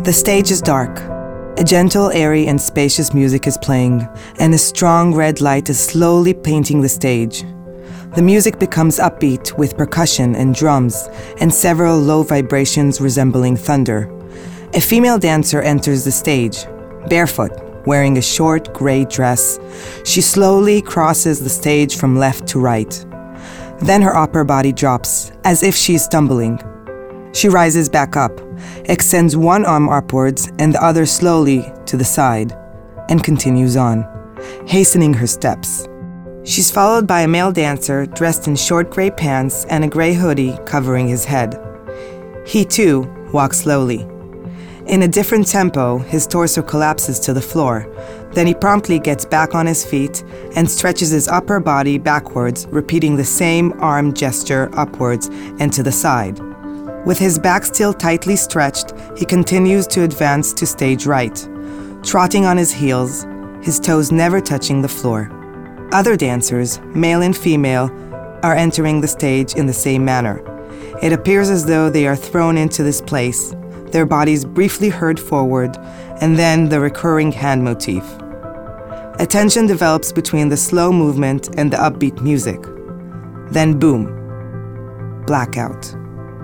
The stage is dark. A gentle, airy, and spacious music is playing, and a strong red light is slowly painting the stage. The music becomes upbeat with percussion and drums, and several low vibrations resembling thunder. A female dancer enters the stage, barefoot, wearing a short gray dress. She slowly crosses the stage from left to right. Then her upper body drops, as if she is stumbling. She rises back up, extends one arm upwards and the other slowly to the side, and continues on, hastening her steps. She's followed by a male dancer dressed in short gray pants and a gray hoodie covering his head. He too walks slowly. In a different tempo, his torso collapses to the floor. Then he promptly gets back on his feet and stretches his upper body backwards, repeating the same arm gesture upwards and to the side. With his back still tightly stretched, he continues to advance to stage right, trotting on his heels, his toes never touching the floor. Other dancers, male and female, are entering the stage in the same manner. It appears as though they are thrown into this place, their bodies briefly hurled forward, and then the recurring hand motif. A tension develops between the slow movement and the upbeat music. Then boom, blackout.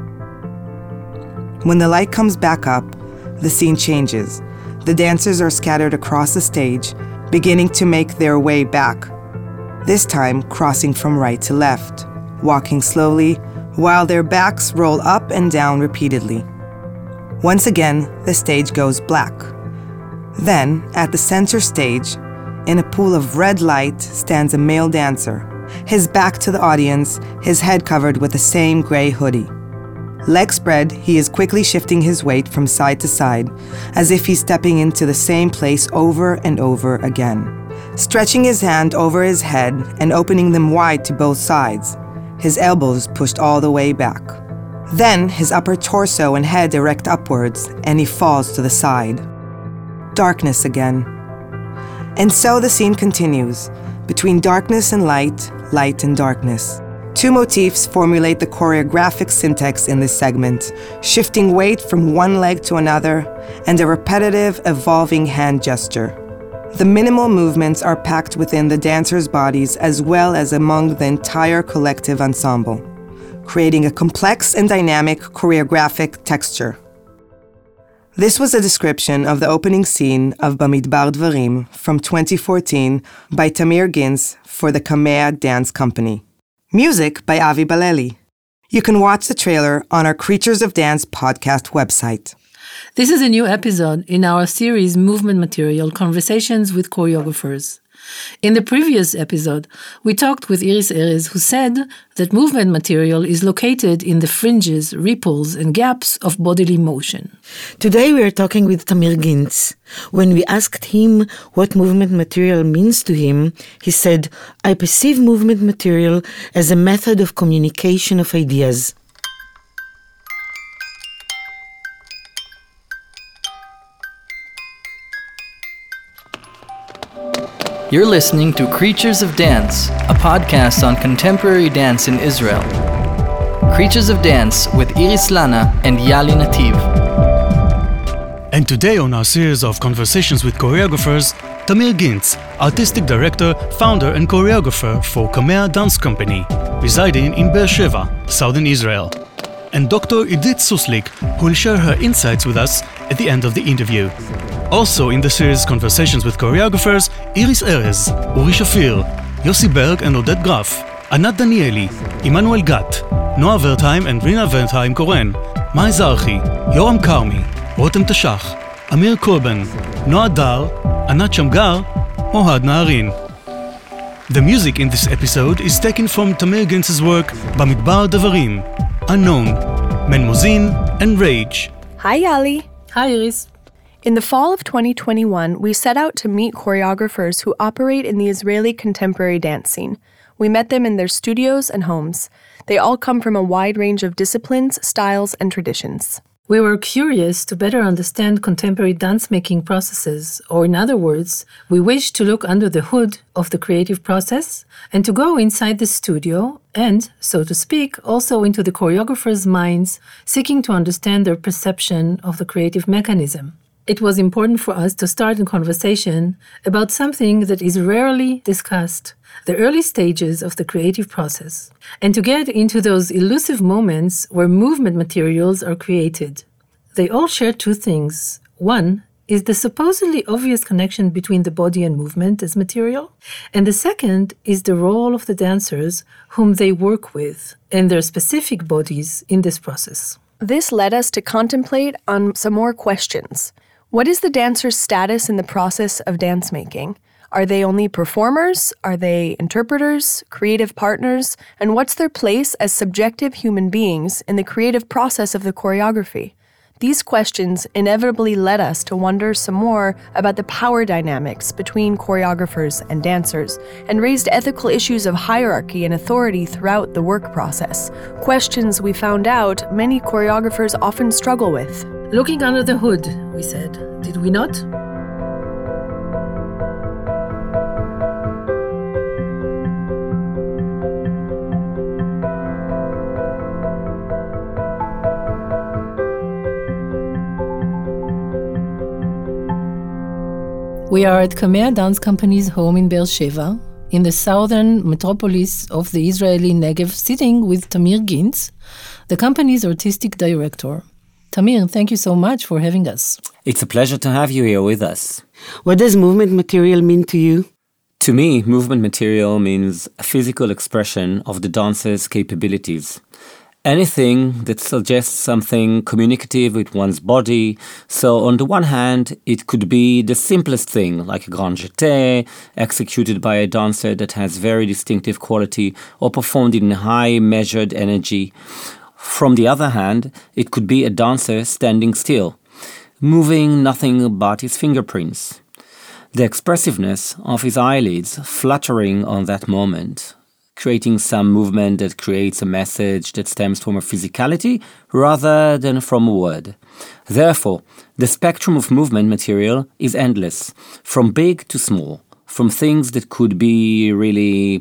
When the light comes back up, the scene changes. The dancers are scattered across the stage, beginning to make their way back, this time crossing from right to left, walking slowly, while their backs roll up and down repeatedly. Once again, the stage goes black. Then, at the center stage, in a pool of red light, stands a male dancer, his back to the audience, his head covered with the same gray hoodie. Legs spread, he is quickly shifting his weight from side to side, as if he's stepping into the same place over and over again. Stretching his hand over his head and opening them wide to both sides, his elbows pushed all the way back. Then his upper torso and head erect upwards, and he falls to the side. Darkness again. And so the scene continues, between darkness and light, light and darkness. Two motifs formulate the choreographic syntax in this segment, shifting weight from one leg to another, and a repetitive, evolving hand gesture. The minimal movements are packed within the dancers' bodies as well as among the entire collective ensemble, creating a complex and dynamic choreographic texture. This was a description of the opening scene of Bamidbar Dvarim from 2014 by Tamir Gintz for the Kamea Dance Company. Music by Avi Baleli. You can watch the trailer on our Creatures of Dance podcast website. This is a new episode in our series Movement Material Conversations with Choreographers. In the previous episode, we talked with Iris Erez, who said that movement material is located in the fringes, ripples, and gaps of bodily motion. Today we are talking with Tamir Gintz. When we asked him what movement material means to him, he said, "I perceive movement material as a method of communication of ideas." You're listening to Creatures of Dance, a podcast on contemporary dance in Israel. Creatures of Dance with Iris Lana and Yali Nativ. And today on our series of conversations with choreographers, Tamir Gintz, artistic director, founder and choreographer for Kamea Dance Company, residing in Beersheba, southern Israel, and Dr. Idit Suslik, who will share her insights with us at the end of the interview. Also in the series Conversations with Choreographers, Iris Erez, Uri Shafir, Yossi Berg and Oded Graf, Anat Danieli, Emmanuel Gat, Noah Wertheim and Rina Wertheim-Koren, Mai Zarchi, Yoram Karmi, Rotem Tashach, Amir Korban, Noah Dar, Anat Shamgar, Mohad Naarin. The music in this episode is taken from Tamir Gintz's work Bamidbar Dvarim, Unknown, Menmozin, and Rage. Hi Yali. Hi Iris. In the fall of 2021, we set out to meet choreographers who operate in the Israeli contemporary dance scene. We met them in their studios and homes. They all come from a wide range of disciplines, styles, and traditions. We were curious to better understand contemporary dance-making processes, or in other words, we wished to look under the hood of the creative process and to go inside the studio and, so to speak, also into the choreographers' minds, seeking to understand their perception of the creative mechanism. It was important for us to start a conversation about something that is rarely discussed, the early stages of the creative process, and to get into those elusive moments where movement materials are created. They all share two things. One is the supposedly obvious connection between the body and movement as material, and the second is the role of the dancers whom they work with and their specific bodies in this process. This led us to contemplate on some more questions. What is the dancer's status in the process of dance making? Are they only performers? Are they interpreters, creative partners? And what's their place as subjective human beings in the creative process of the choreography? These questions inevitably led us to wonder some more about the power dynamics between choreographers and dancers, and raised ethical issues of hierarchy and authority throughout the work process, questions we found out many choreographers often struggle with. Looking under the hood, we said, did we not? We are at Kamea Dance Company's home in Be'er Sheva, in the southern metropolis of the Israeli Negev, sitting with Tamir Gintz, the company's artistic director. Tamir, thank you so much for having us. It's a pleasure to have you here with us. What does movement material mean to you? To me, movement material means a physical expression of the dancer's capabilities. Anything that suggests something communicative with one's body. So on the one hand, it could be the simplest thing, like a grand jeté, executed by a dancer that has very distinctive quality or performed in high measured energy. From the other hand, it could be a dancer standing still, moving nothing but his fingerprints. The expressiveness of his eyelids fluttering on that moment, creating some movement that creates a message that stems from a physicality rather than from a word. Therefore, the spectrum of movement material is endless, from big to small, from things that could be really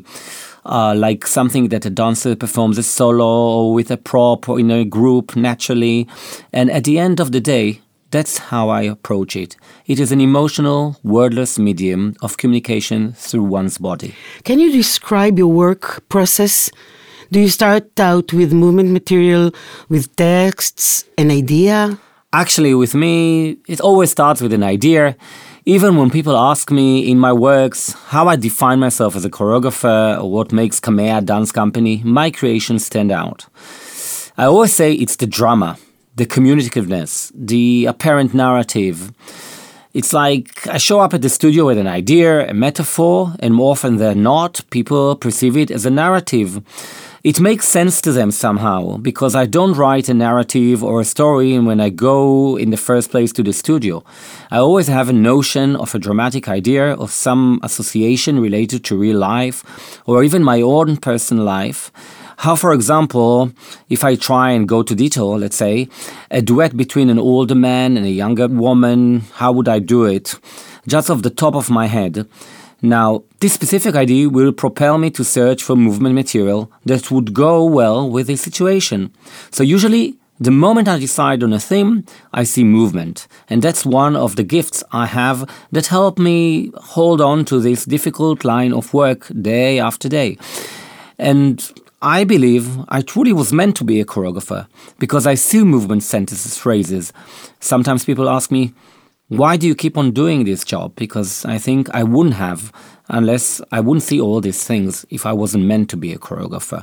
like something that a dancer performs a solo or with a prop or in a group naturally. And at the end of the day, that's how I approach it. It is an emotional, wordless medium of communication through one's body. Can you describe your work process? Do you start out with movement material, with texts, an idea? Actually, with me, it always starts with an idea. Even when people ask me in my works how I define myself as a choreographer or what makes Kamea Dance Company, my creations stand out. I always say it's the drama, the communicativeness, the apparent narrative. It's like I show up at the studio with an idea, a metaphor, and more often than not, people perceive it as a narrative. It makes sense to them somehow, because I don't write a narrative or a story when I go in the first place to the studio. I always have a notion of a dramatic idea or some association related to real life, or even my own personal life. How, for example, if I try and go to detail, let's say, a duet between an older man and a younger woman, how would I do it? Just off the top of my head. Now, this specific idea will propel me to search for movement material that would go well with this situation. So usually, the moment I decide on a theme, I see movement. And that's one of the gifts I have that help me hold on to this difficult line of work day after day. And I believe I truly was meant to be a choreographer because I see movement sentences, phrases. Sometimes people ask me, why do you keep on doing this job? Because I think I wouldn't have unless I wouldn't see all these things if I wasn't meant to be a choreographer.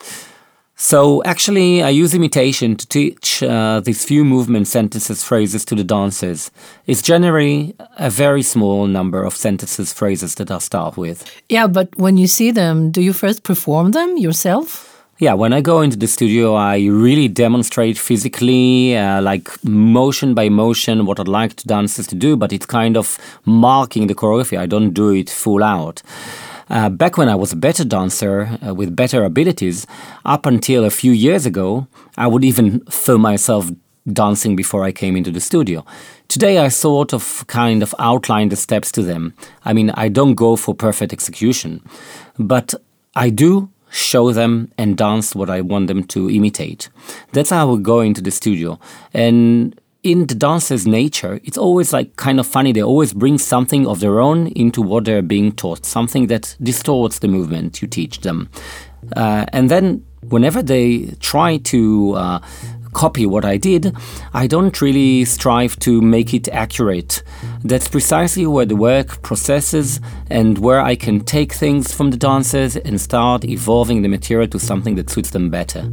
So actually, I use imitation to teach these few movement sentences, phrases to the dancers. It's generally a very small number of sentences, phrases that I'll start with. Yeah, but when you see them, do you first perform them yourself? Yeah, when I go into the studio, I really demonstrate physically, like motion by motion, what I'd like the dancers to do, but it's kind of marking the choreography. I don't do it full out. Back when I was a better dancer with better abilities, up until a few years ago, I would even film myself dancing before I came into the studio. Today, I sort of kind of outline the steps to them. I mean, I don't go for perfect execution, but I do show them, and dance what I want them to imitate. That's how we go into the studio. And in the dancer's nature, it's always like kind of funny. They always bring something of their own into what they're being taught, something that distorts the movement you teach them. And then whenever they try to copy what I did, I don't really strive to make it accurate. That's precisely where the work processes and where I can take things from the dancers and start evolving the material to something that suits them better.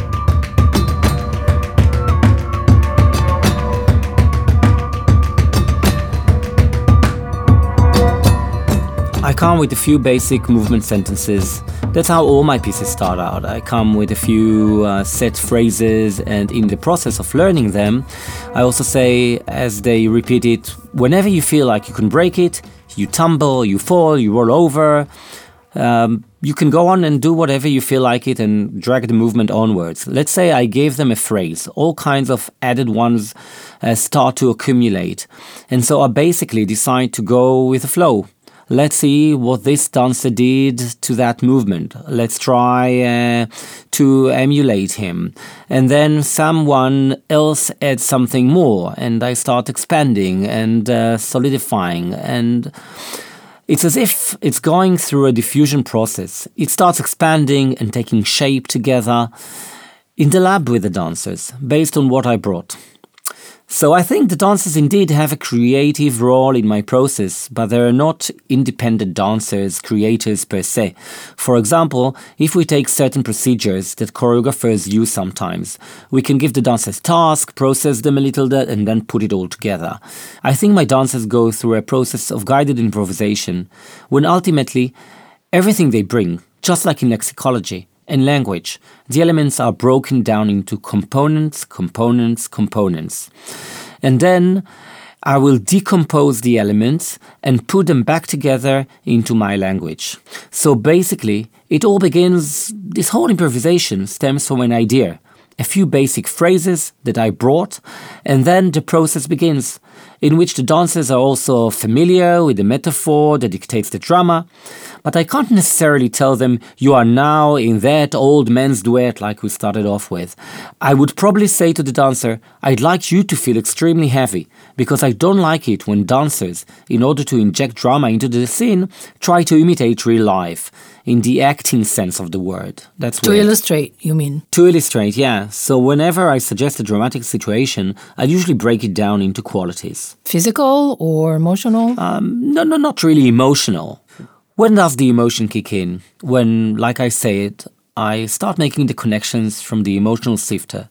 I come with a few basic movement sentences. That's how all my pieces start out. I come with a few set phrases, and in the process of learning them, I also say, as they repeat it, whenever you feel like you can break it, you tumble, you fall, you roll over, you can go on and do whatever you feel like it and drag the movement onwards. Let's say I gave them a phrase. All kinds of added ones start to accumulate. And so I basically decide to go with the flow. Let's see what this dancer did to that movement. Let's try to emulate him. And then someone else adds something more, and I start expanding and solidifying. And it's as if it's going through a diffusion process. It starts expanding and taking shape together in the lab with the dancers, based on what I brought. So I think the dancers indeed have a creative role in my process, but they are not independent dancers, creators per se. For example, if we take certain procedures that choreographers use sometimes, we can give the dancers tasks, process them a little bit, and then put it all together. I think my dancers go through a process of guided improvisation, when ultimately everything they bring, just like in lexicology, and language, the elements are broken down into components. And then I will decompose the elements and put them back together into my language. So basically, it all begins, this whole improvisation stems from an idea, a few basic phrases that I brought, and then the process begins, in which the dancers are also familiar with the metaphor that dictates the drama. But I can't necessarily tell them, you are now in that old man's duet like we started off with. I would probably say to the dancer, I'd like you to feel extremely heavy, because I don't like it when dancers, in order to inject drama into the scene, try to imitate real life, in the acting sense of the word. That's to weird. Illustrate, you mean? To illustrate, yeah. So whenever I suggest a dramatic situation, I usually break it down into qualities. Physical or emotional? No, not really emotional. When does the emotion kick in? When, like I said, I start making the connections from the emotional sifter.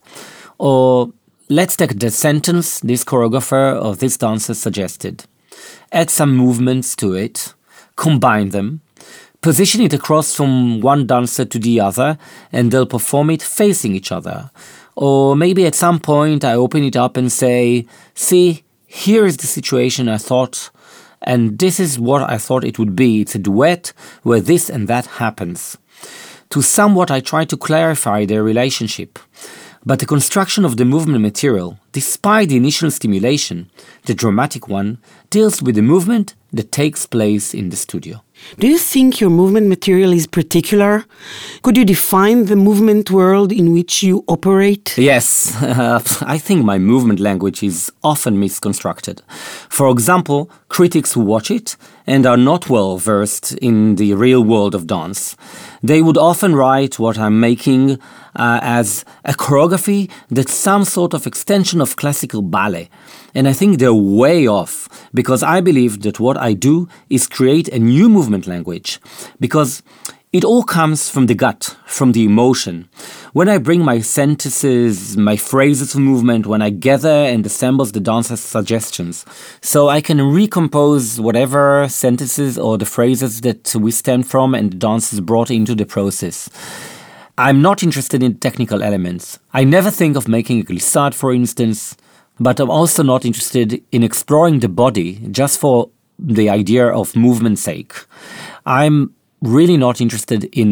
Or let's take the sentence this choreographer or this dancer suggested. Add some movements to it, combine them, position it across from one dancer to the other, and they'll perform it facing each other. Or maybe at some point I open it up and say, see, here is the situation I thought, and this is what I thought it would be. It's a duet where this and that happens. To somewhat I try to clarify their relationship. But the construction of the movement material, despite the initial stimulation, the dramatic one, deals with the movement that takes place in the studio. Do you think your movement material is particular? Could you define the movement world in which you operate? Yes, I think my movement language is often misconstructed. For example, critics who watch it and are not well versed in the real world of dance, they would often write what I'm making as a choreography that's some sort of extension of classical ballet. And I think they're way off, because I believe that what I do is create a new movement language, because it all comes from the gut, from the emotion. When I bring my sentences, my phrases of movement, when I gather and assemble the dancer's suggestions, so I can recompose whatever sentences or the phrases that we stem from and the dancers brought into the process. I'm not interested in technical elements. I never think of making a glissade, for instance, but I'm also not interested in exploring the body just for the idea of movement's sake. I'm really not interested in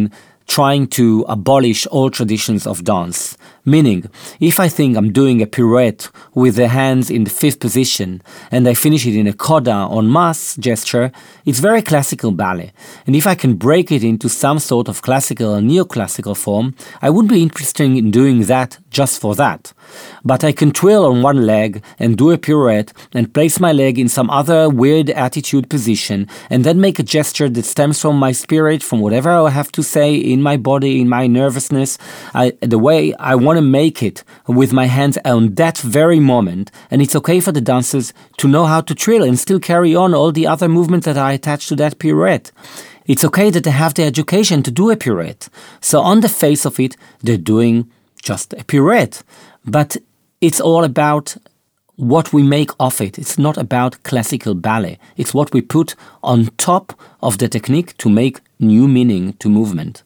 trying to abolish all traditions of dance. Meaning, if I think I'm doing a pirouette with the hands in the fifth position and I finish it in a coda en masse gesture, it's very classical ballet. And if I can break it into some sort of classical or neoclassical form, I wouldn't be interested in doing that just for that. But I can twirl on one leg and do a pirouette and place my leg in some other weird attitude position and then make a gesture that stems from my spirit, from whatever I have to say in my body, in my nervousness, the way I want to make it with my hands on that very moment. And it's okay for the dancers to know how to trill and still carry on all the other movements that are attached to that pirouette. It's okay that they have the education to do a pirouette. So on the face of it, they're doing just a pirouette. But it's all about what we make of it. It's not about classical ballet. It's what we put on top of the technique to make new meaning to movement.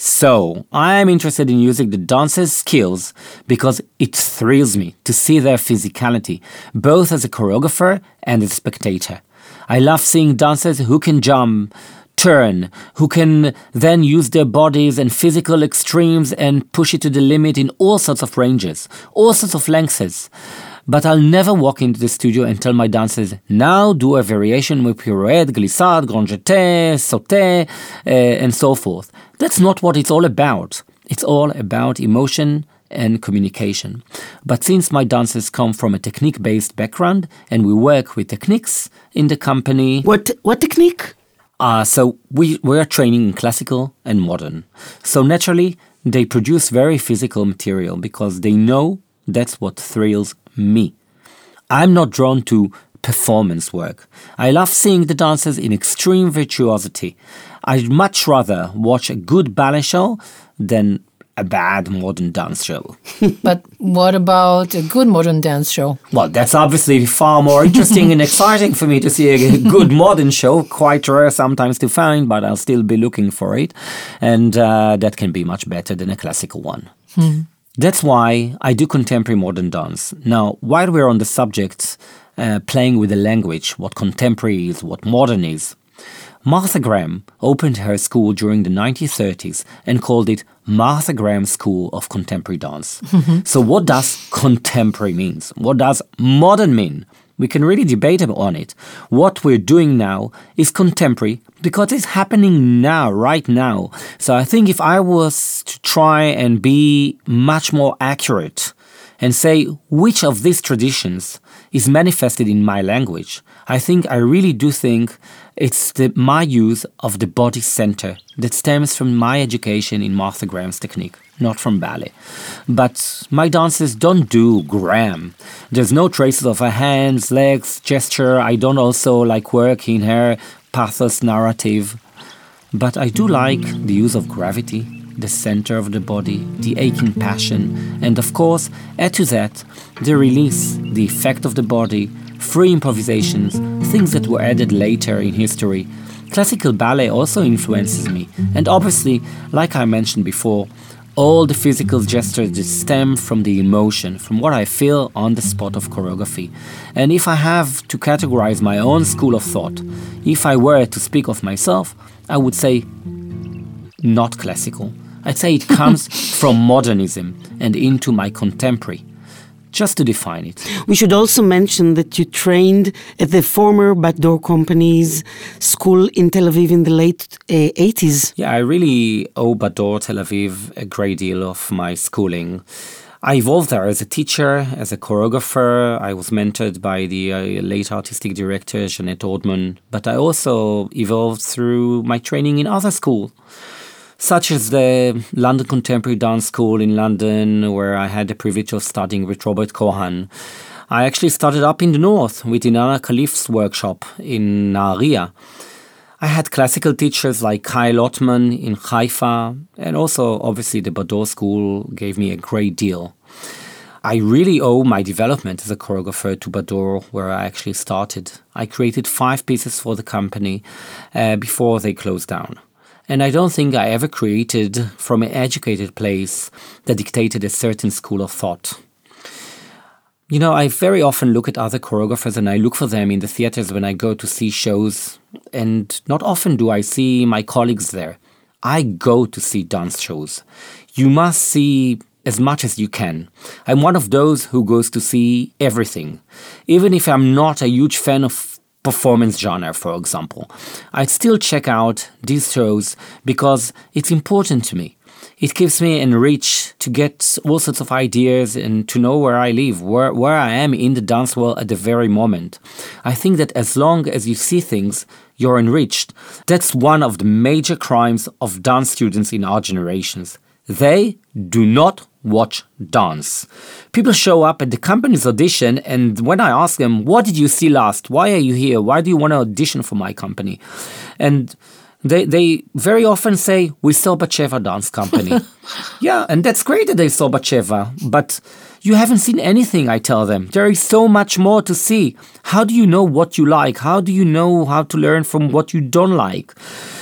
So I'm interested in using the dancers' skills because it thrills me to see their physicality, both as a choreographer and as a spectator. I love seeing dancers who can jump, turn, who can then use their bodies and physical extremes and push it to the limit in all sorts of ranges, all sorts of lengths. But I'll never walk into the studio and tell my dancers, now do a variation with pirouette, glissade, grand jeté, sauté, and so forth. That's not what it's all about. It's all about emotion and communication. But since my dancers come from a technique-based background and we work with techniques in the company... What technique? So we are training in classical and modern. So naturally, they produce very physical material because they know that's what thrills me. I'm not drawn to performance work. I love seeing the dancers in extreme virtuosity. I'd much rather watch a good ballet show than a bad modern dance show. But what about a good modern dance show? Well, that's obviously far more interesting and exciting for me to see a good modern show. Quite rare sometimes to find, but I'll still be looking for it. And that can be much better than a classical one. That's why I do contemporary modern dance. Now, while we're on the subject, playing with the language, what contemporary is, what modern is, Martha Graham opened her school during the 1930s and called it Martha Graham School of Contemporary Dance. So what does contemporary mean? What does modern mean? We can really debate on it. What we're doing now is contemporary because it's happening now, right now. So I think if I was to try and be much more accurate and say which of these traditions is manifested in my language, I really do think it's my use of the body center that stems from my education in Martha Graham's technique, not from ballet. But my dancers don't do Graham. There's no traces of her hands, legs, gesture. I don't also like work in her pathos narrative. But I do like the use of gravity, the center of the body, the aching passion, and of course, add to that, the release, the effect of the body, free improvisations, things that were added later in history. Classical ballet also influences me, and obviously, like I mentioned before, all the physical gestures that stem from the emotion, from what I feel on the spot of choreography. And if I have to categorize my own school of thought, if I were to speak of myself, I would say not classical. I'd say it comes from modernism and into my contemporary. Just to define it. We should also mention that you trained at the former Bat Dor Company's school in Tel Aviv in the late 80s. Yeah, I really owe Bat Dor Tel Aviv a great deal of my schooling. I evolved there as a teacher, as a choreographer. I was mentored by the late artistic director, Jeanette Ordman. But I also evolved through my training in other schools, such as the London Contemporary Dance School in London, where I had the privilege of studying with Robert Cohen. I actually started up in the north with Inanna Khalif's workshop in Nahariya. I had classical teachers like Kyle Ottman in Haifa, and also, obviously, the Bat Dor School gave me a great deal. I really owe my development as a choreographer to Bat Dor, where I actually started. I created 5 pieces for the company before they closed down. And I don't think I ever created from an educated place that dictated a certain school of thought. You know, I very often look at other choreographers and I look for them in the theaters when I go to see shows. And not often do I see my colleagues there. I go to see dance shows. You must see as much as you can. I'm one of those who goes to see everything. Even if I'm not a huge fan of performance genre, for example, I'd still check out these shows because it's important to me. It keeps me enriched to get all sorts of ideas and to know where I live, where I am in the dance world at the very moment. I think that as long as you see things, you're enriched. That's one of the major crimes of dance students in our generations. They do not watch dance. People show up at the company's audition, and when I ask them, what did you see last? Why are you here? Why do you want to audition for my company? And they very often say, we saw Batsheva Dance Company. Yeah, and that's great that they saw Batsheva, but you haven't seen anything, I tell them. There is so much more to see. How do you know what you like? How do you know how to learn from what you don't like?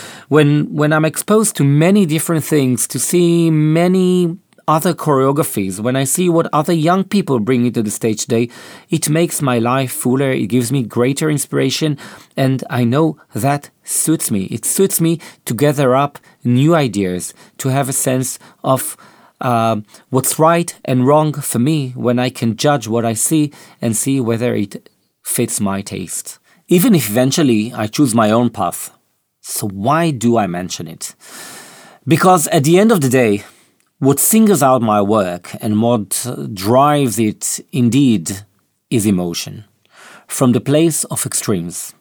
When I'm exposed to many different things, to see many other choreographies, when I see what other young people bring into the stage today, it makes my life fuller, it gives me greater inspiration, and I know that suits me. It suits me to gather up new ideas, to have a sense of what's right and wrong for me when I can judge what I see and see whether it fits my taste. Even if eventually I choose my own path. So why do I mention it? Because at the end of the day, what singles out my work and what drives it indeed is emotion, from the place of extremes.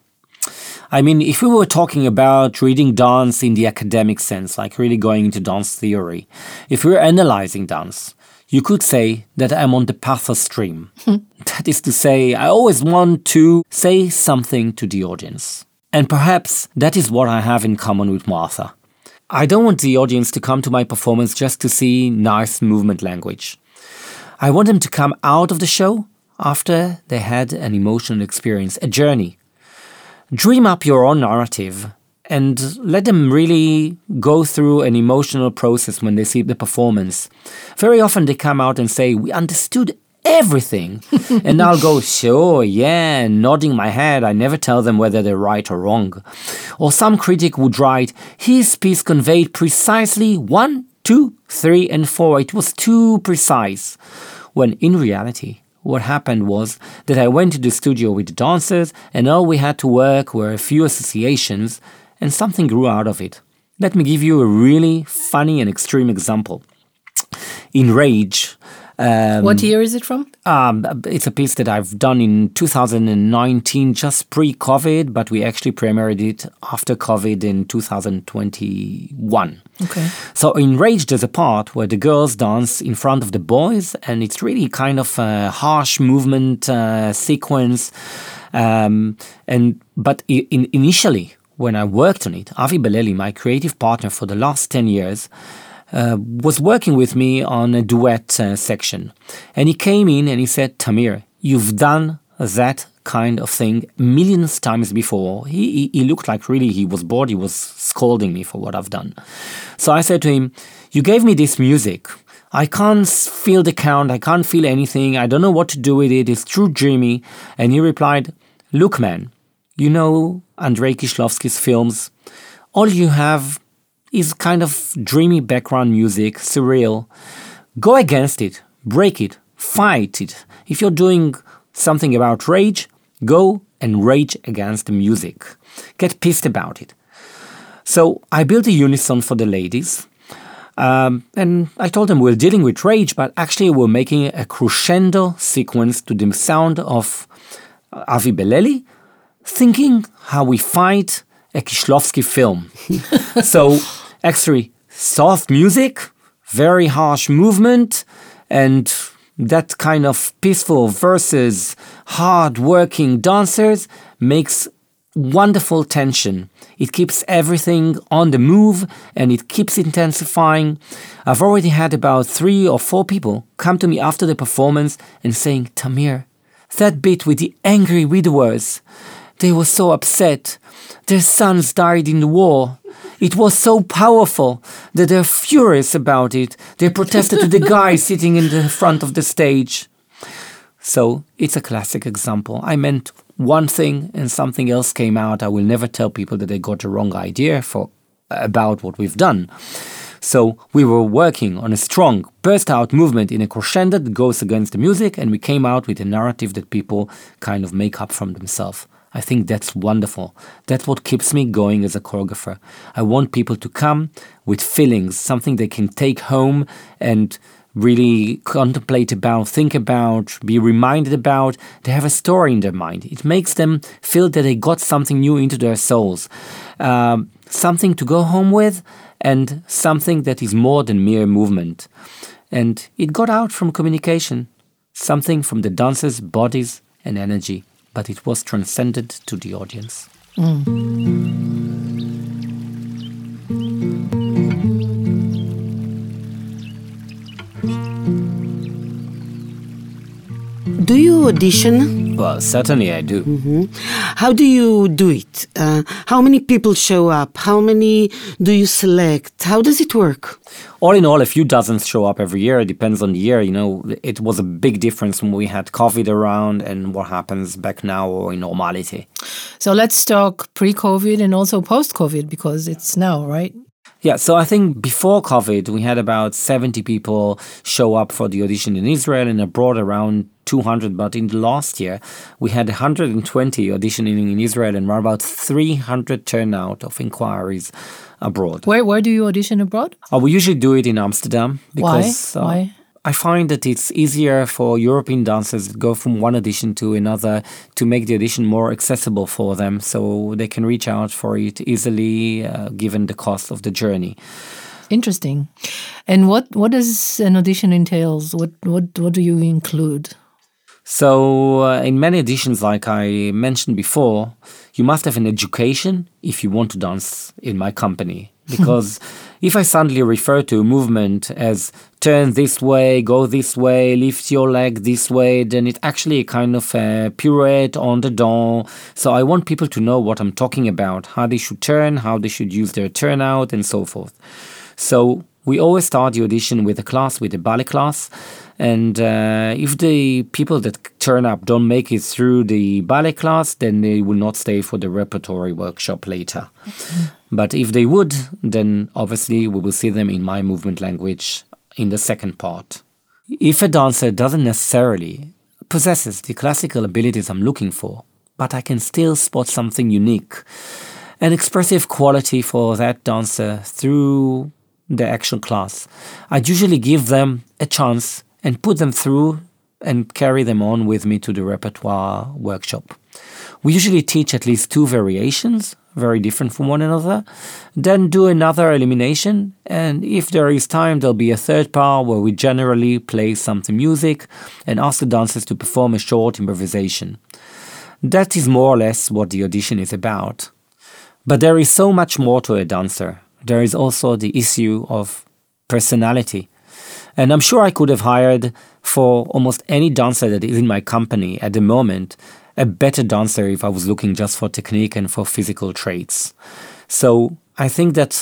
I mean, if we were talking about reading dance in the academic sense, like really going into dance theory, if we were analyzing dance, you could say that I'm on the pathos stream. That is to say, I always want to say something to the audience. And perhaps that is what I have in common with Martha. I don't want the audience to come to my performance just to see nice movement language. I want them to come out of the show after they had an emotional experience, a journey. Dream up your own narrative and let them really go through an emotional process when they see the performance. Very often they come out and say, we understood everything. And I'll go, sure, yeah, nodding my head. I never tell them whether they're right or wrong. Or some critic would write, his piece conveyed precisely 1, 2, 3, and 4. It was too precise. When in reality, what happened was that I went to the studio with the dancers and all we had to work were a few associations and something grew out of it. Let me give you a really funny and extreme example. In Rage, what year is it from? It's a piece that I've done in 2019, just pre-COVID, but we actually premiered it after COVID in 2021. Okay. So in Rage, there's a part where the girls dance in front of the boys, and it's really kind of a harsh movement sequence. But initially, when I worked on it, Avi Beleli, my creative partner for the last 10 years, was working with me on a duet section. And he came in and he said, Tamir, you've done that kind of thing millions of times before. He looked like really he was bored. He was scolding me for what I've done. So I said to him, you gave me this music. I can't feel the count. I can't feel anything. I don't know what to do with it. It's too dreamy. And he replied, look, man, you know Andrei Kishlovsky's films. All you have is kind of dreamy background music, surreal. Go against it, break it, fight it. If you're doing something about rage, go and rage against the music. Get pissed about it. So I built a unison for the ladies, and I told them we're dealing with rage, but actually we're making a crescendo sequence to the sound of Avi Beleli, thinking how we fight a Kishlovsky film. So actually soft music, very harsh movement, and that kind of peaceful versus hard-working dancers makes wonderful tension. It keeps everything on the move and it keeps intensifying. I've already had about 3 or 4 people come to me after the performance and saying, Tamir, that bit with the angry widowers, they were so upset. Their sons died in the war. It was so powerful that they're furious about it. They protested to the guy sitting in the front of the stage. So it's a classic example. I meant one thing and something else came out. I will never tell people that they got the wrong idea for about what we've done. So we were working on a strong burst-out movement in a crescendo that goes against the music, and we came out with a narrative that people kind of make up from themselves. I think that's wonderful. That's what keeps me going as a choreographer. I want people to come with feelings, something they can take home and really contemplate about, think about, be reminded about. They have a story in their mind. It makes them feel that they got something new into their souls, something to go home with, and something that is more than mere movement. And it got out from communication, something from the dancers' bodies and energy, but it was transcended to the audience. Do you audition? Well, certainly I do. How do you do it? How many people show up? How many do you select? How does it work? All in all, a few dozens show up every year. It depends on the year. You know, it was a big difference when we had COVID around and what happens back now or in normality. So let's talk pre-COVID and also post-COVID, because it's now, right? Yeah, so I think before COVID, we had about 70 people show up for the audition in Israel and abroad, around 200. But in the last year, we had 120 auditioning in Israel and around about 300 turnout of inquiries abroad. Where do you audition abroad? We usually do it in Amsterdam. Because, Why? I find that it's easier for European dancers to go from one audition to another to make the audition more accessible for them, so they can reach out for it easily, given the cost of the journey. Interesting. And what does an audition entails? What do you include? So in many auditions, like I mentioned before, you must have an education if you want to dance in my company. Because if I suddenly refer to a movement as turn this way, go this way, lift your leg this way, then it's actually a kind of a pirouette on the dent. So I want people to know what I'm talking about, how they should turn, how they should use their turnout, and so forth. So we always start the audition with a ballet class. And if the people that turn up don't make it through the ballet class, then they will not stay for the repertory workshop later. But if they would, then obviously we will see them in my movement language in the second part. If a dancer doesn't necessarily possesses the classical abilities I'm looking for, but I can still spot something unique, an expressive quality for that dancer through the actual class, I'd usually give them a chance and put them through and carry them on with me to the repertoire workshop. We usually teach at least 2 variations, very different from one another, then do another elimination, and if there is time, there'll be a third part where we generally play some music and ask the dancers to perform a short improvisation. That is more or less what the audition is about. But there is so much more to a dancer. There is also the issue of personality. And I'm sure I could have hired for almost any dancer that is in my company at the moment a better dancer if I was looking just for technique and for physical traits. So I think that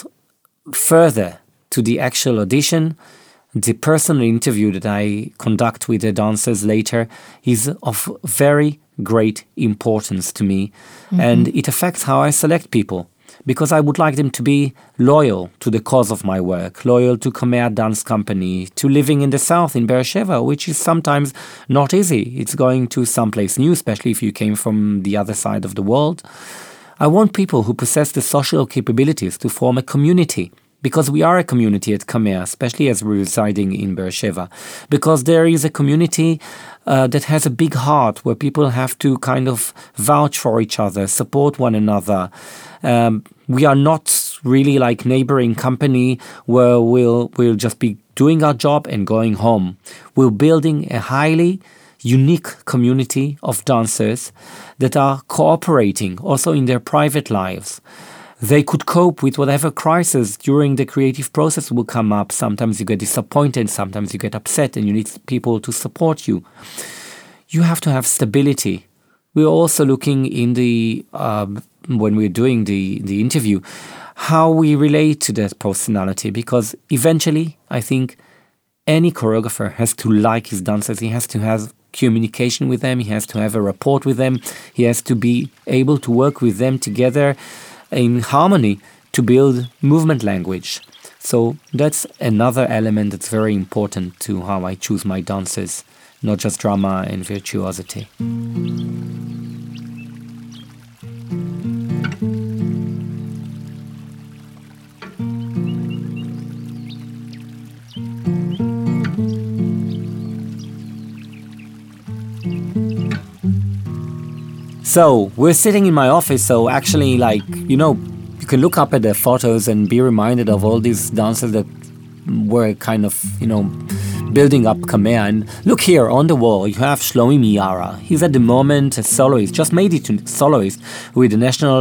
further to the actual audition, the personal interview that I conduct with the dancers later is of very great importance to me. And it affects how I select people. Because I would like them to be loyal to the cause of my work, loyal to Kamea Dance Company, to living in the south in Beersheba, which is sometimes not easy. It's going to someplace new, especially if you came from the other side of the world. I want people who possess the social capabilities to form a community, because we are a community at Kamea, especially as we're residing in Beersheba, because there is a community that has a big heart where people have to kind of vouch for each other, support one another. We are not really like neighboring company where we'll just be doing our job and going home. We're building a highly unique community of dancers that are cooperating also in their private lives. They could cope with whatever crisis during the creative process will come up. Sometimes you get disappointed, sometimes you get upset, and you need people to support you. You have to have stability. We're also looking in the when we're doing the interview, how we relate to that personality, because eventually I think any choreographer has to like his dancers. He has to have communication with them. He has to have a rapport with them. He has to be able to work with them together in harmony to build movement language. So that's another element that's very important to how I choose my dances, not just drama and virtuosity. So we're sitting in my office, so actually, you can look up at the photos and be reminded of all these dancers that were kind of, building up Kamea. And look here on the wall, you have Shlomi Miara. He's at the moment a soloist, just made it to soloist with the National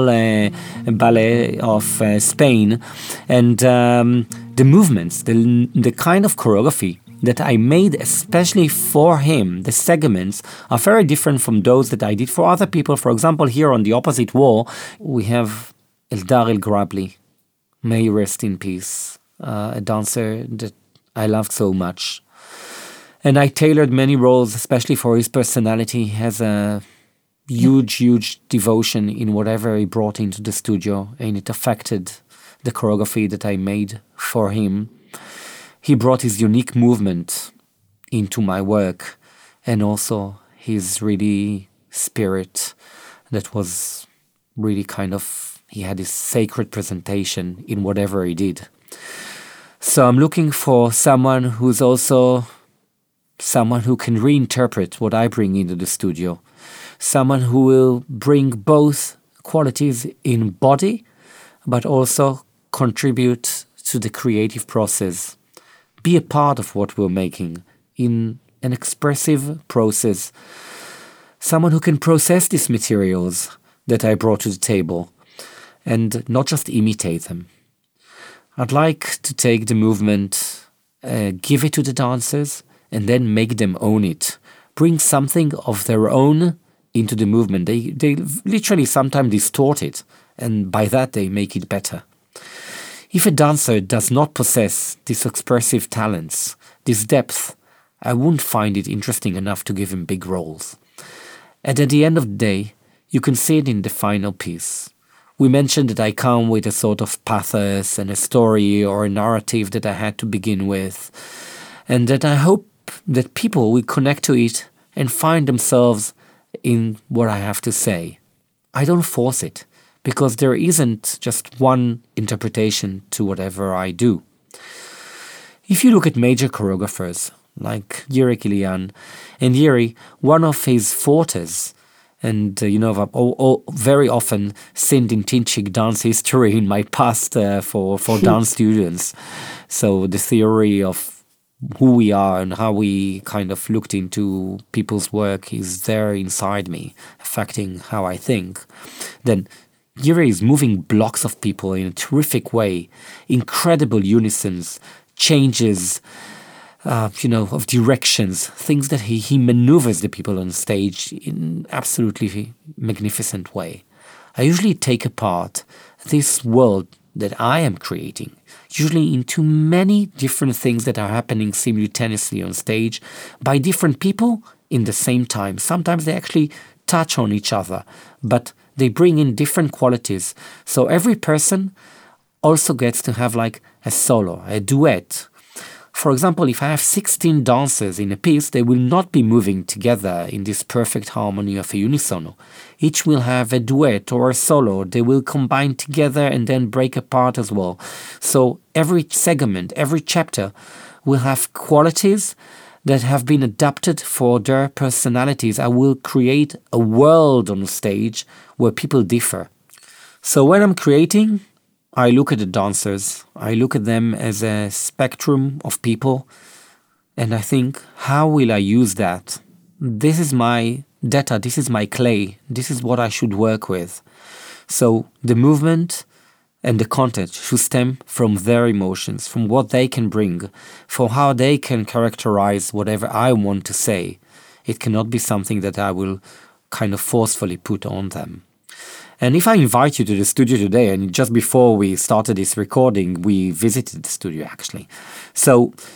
Ballet of Spain. And the movements, the kind of choreography that I made especially for him, the segments, are very different from those that I did for other people. For example, here on the opposite wall, we have Eldar El-Grabli. May he rest in peace. A dancer that I loved so much. And I tailored many roles, especially for his personality. He has a huge devotion in whatever he brought into the studio, and it affected the choreography that I made for him. He brought his unique movement into my work, and also his really spirit that was really he had this sacred presentation in whatever he did. So I'm looking for someone who's also someone who can reinterpret what I bring into the studio. Someone who will bring both qualities in body, but also contribute to the creative process. Be a part of what we're making in an expressive process. Someone who can process these materials that I brought to the table and not just imitate them. I'd like to take the movement, give it to the dancers, and then make them own it. Bring something of their own into the movement. They literally sometimes distort it, and by that they make it better. If a dancer does not possess these expressive talents, this depth, I wouldn't find it interesting enough to give him big roles. And at the end of the day, you can see it in the final piece. We mentioned that I come with a sort of pathos and a story or a narrative that I had to begin with, and that I hope that people will connect to it and find themselves in what I have to say. I don't force it, because there isn't just one interpretation to whatever I do. If you look at major choreographers like Yuri Kilian, and Yuri, one of his fortes, and I've very often seen in Tinchik dance history in my past for dance students. So the theory of who we are and how we kind of looked into people's work is there inside me, affecting how I think. Then Yuri is moving blocks of people in a terrific way, incredible unisons, changes, of directions, things that he maneuvers the people on stage in absolutely magnificent way. I usually take apart this world that I am creating, usually into many different things that are happening simultaneously on stage by different people in the same time. Sometimes they actually touch on each other, but they bring in different qualities. So every person also gets to have like a solo, a duet. For example, if I have 16 dancers in a piece, they will not be moving together in this perfect harmony of a unisono. Each will have a duet or a solo. They will combine together and then break apart as well. So every segment, every chapter will have qualities that have been adapted for their personalities. I will create a world on stage where people differ. So when I'm creating, I look at the dancers, I look at them as a spectrum of people, and I think, how will I use that? This is my data, this is my clay, this is what I should work with. So the movement and the content should stem from their emotions, from what they can bring, from how they can characterize whatever I want to say. It cannot be something that I will kind of forcefully put on them. And if I invite you to the studio today, and just before we started this recording, we visited the studio actually. So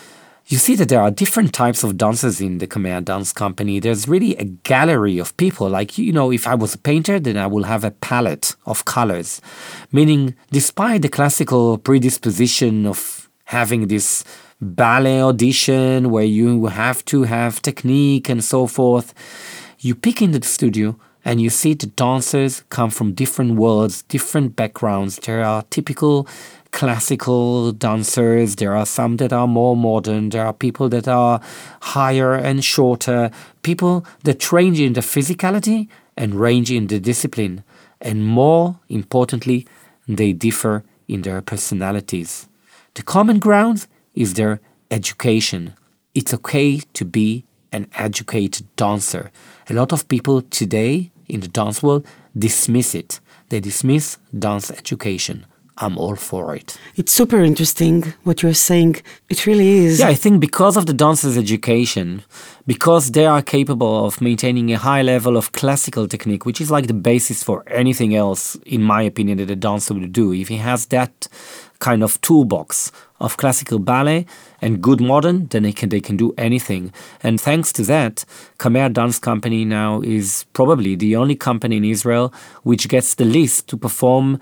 you see that there are different types of dancers in the Kamea Dance Company. There's really a gallery of people. Like, if I was a painter, then I will have a palette of colors. Meaning, despite the classical predisposition of having this ballet audition where you have to have technique and so forth, you pick into the studio and you see the dancers come from different worlds, different backgrounds. There are typical classical dancers, there are some that are more modern, there are people that are higher and shorter, people that range in the physicality and range in the discipline, and more importantly, they differ in their personalities. The common ground is their education. It's okay to be an educated dancer. A lot of people today in the dance world dismiss it. They dismiss dance education. I'm all for it. It's super interesting what you're saying. It really is. Yeah, I think because of the dancers' education, because they are capable of maintaining a high level of classical technique, which is like the basis for anything else, in my opinion, that a dancer would do. If he has that kind of toolbox of classical ballet and good modern, then they can do anything. And thanks to that, Kamea Dance Company now is probably the only company in Israel which gets the list to perform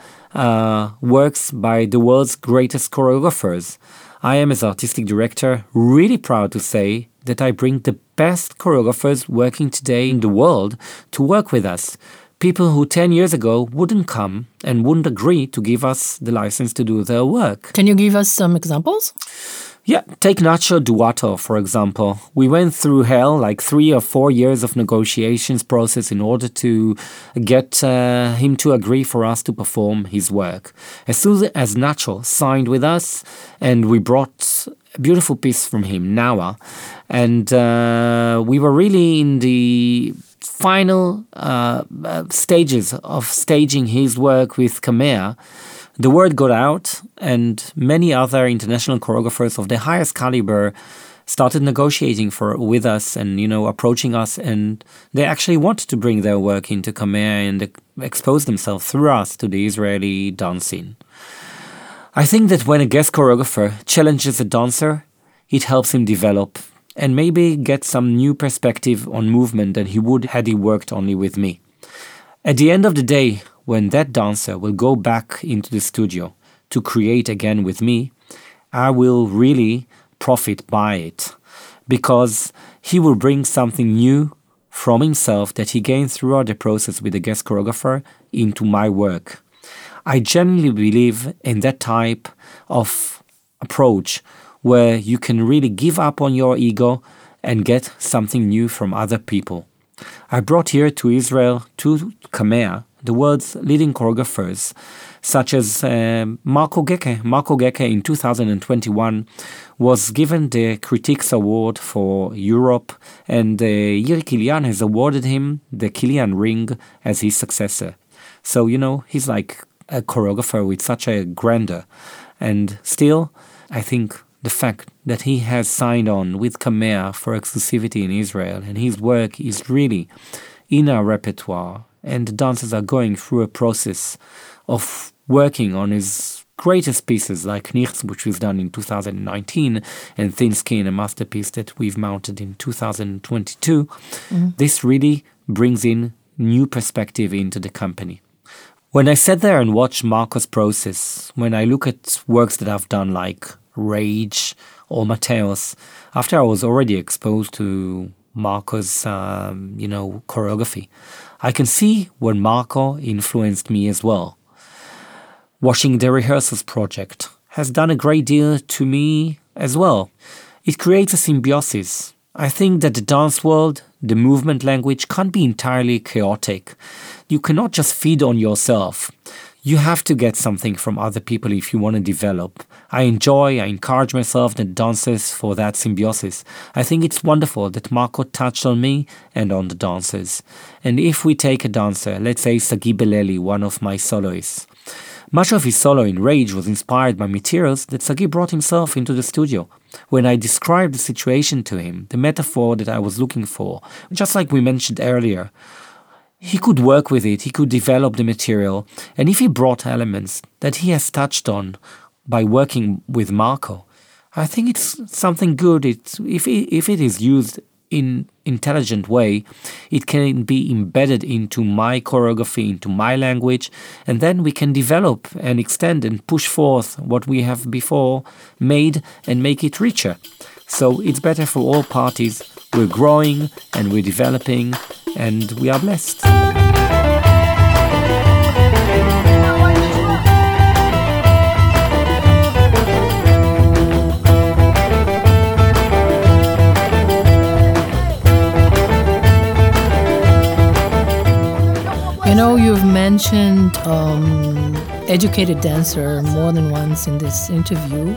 works by the world's greatest choreographers. I am, as artistic director, really proud to say that I bring the best choreographers working today in the world to work with us. People who 10 years ago wouldn't come and wouldn't agree to give us the license to do their work. Can you give us some examples? Yeah, take Nacho Duato, for example. We went through hell, like 3 or 4 years of negotiations process in order to get him to agree for us to perform his work. As soon as Nacho signed with us, and we brought a beautiful piece from him, Nawa, and we were really in the final stages of staging his work with Kamea, the word got out, and many other international choreographers of the highest caliber started negotiating with us and, approaching us, and they actually wanted to bring their work into Kamea and expose themselves through us to the Israeli dance scene. I think that when a guest choreographer challenges a dancer, it helps him develop and maybe get some new perspective on movement than he would had he worked only with me. At the end of the day, when that dancer will go back into the studio to create again with me, I will really profit by it, because he will bring something new from himself that he gained throughout the process with the guest choreographer into my work. I genuinely believe in that type of approach where you can really give up on your ego and get something new from other people. I brought here to Israel, to Kamea, the world's leading choreographers, such as Marco Geke. Marco Geke in 2021 was given the Critiques Award for Europe, and Yiri Kilian has awarded him the Kilian Ring as his successor. So, he's like a choreographer with such a grandeur. And still, I think the fact that he has signed on with Kamea for exclusivity in Israel, and his work is really in our repertoire, and the dancers are going through a process of working on his greatest pieces like Nichts, which was done in 2019, and Thin Skin, a masterpiece that we've mounted in 2022. Mm-hmm. This really brings in new perspective into the company. When I sat there and watched Marco's process, when I look at works that I've done like Rage or Mateos, after I was already exposed to Marco's, choreography, I can see when Marco influenced me as well. Watching the Rehearsals project has done a great deal to me as well. It creates a symbiosis. I think that the dance world, the movement language, can't be entirely chaotic. You cannot just feed on yourself. You have to get something from other people if you want to develop. I encourage myself and dancers for that symbiosis. I think it's wonderful that Marco touched on me and on the dancers. And if we take a dancer, let's say Sagi Beleli, one of my soloists, much of his solo in Rage was inspired by materials that Sagi brought himself into the studio. When I described the situation to him, the metaphor that I was looking for, just like we mentioned earlier, he could work with it, he could develop the material, and if he brought elements that he has touched on by working with Marco, I think it's something good. If it is used in intelligent way, it can be embedded into my choreography, into my language, and then we can develop and extend and push forth what we have before made and make it richer. So it's better for all parties. We're growing and we're developing and we are blessed. You know, you've mentioned educated dancer more than once in this interview.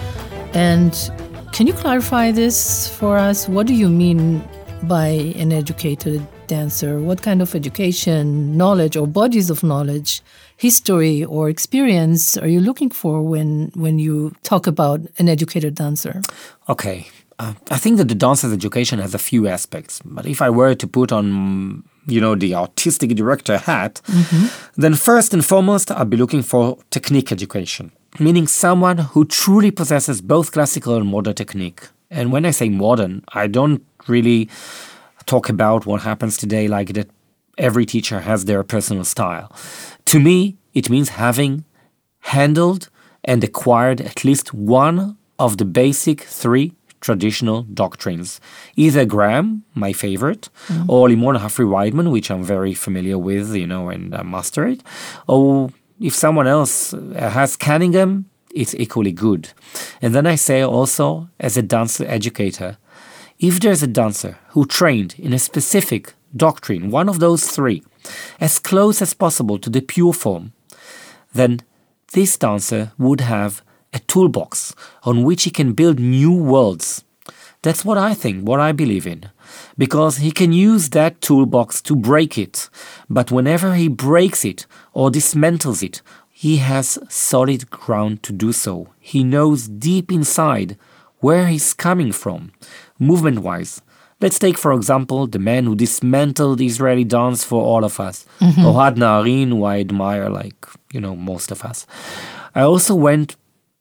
And can you clarify this for us? What do you mean by an educated dancer? What kind of education, knowledge, or bodies of knowledge, history, or experience are you looking for when you talk about an educated dancer? Okay. I think that the dancer's education has a few aspects. But if I were to put on, the artistic director hat, then first and foremost, I'd be looking for technique education, meaning someone who truly possesses both classical and modern technique. And when I say modern, I don't really talk about what happens today, like that every teacher has their personal style. To me, it means having handled and acquired at least one of the basic three traditional doctrines. Either Graham, my favorite, or Limon Humphrey Weidman, which I'm very familiar with, and I master it. Or if someone else has Cunningham, it's equally good. And then I say also, as a dancer educator, if there's a dancer who trained in a specific doctrine, one of those three, as close as possible to the pure form, then this dancer would have a toolbox on which he can build new worlds. That's what I think, what I believe in. Because he can use that toolbox to break it. But whenever he breaks it or dismantles it, he has solid ground to do so. He knows deep inside where he's coming from, movement-wise. Let's take, for example, the man who dismantled Israeli dance for all of us. Ohad Naharin, who I admire like, most of us. I also went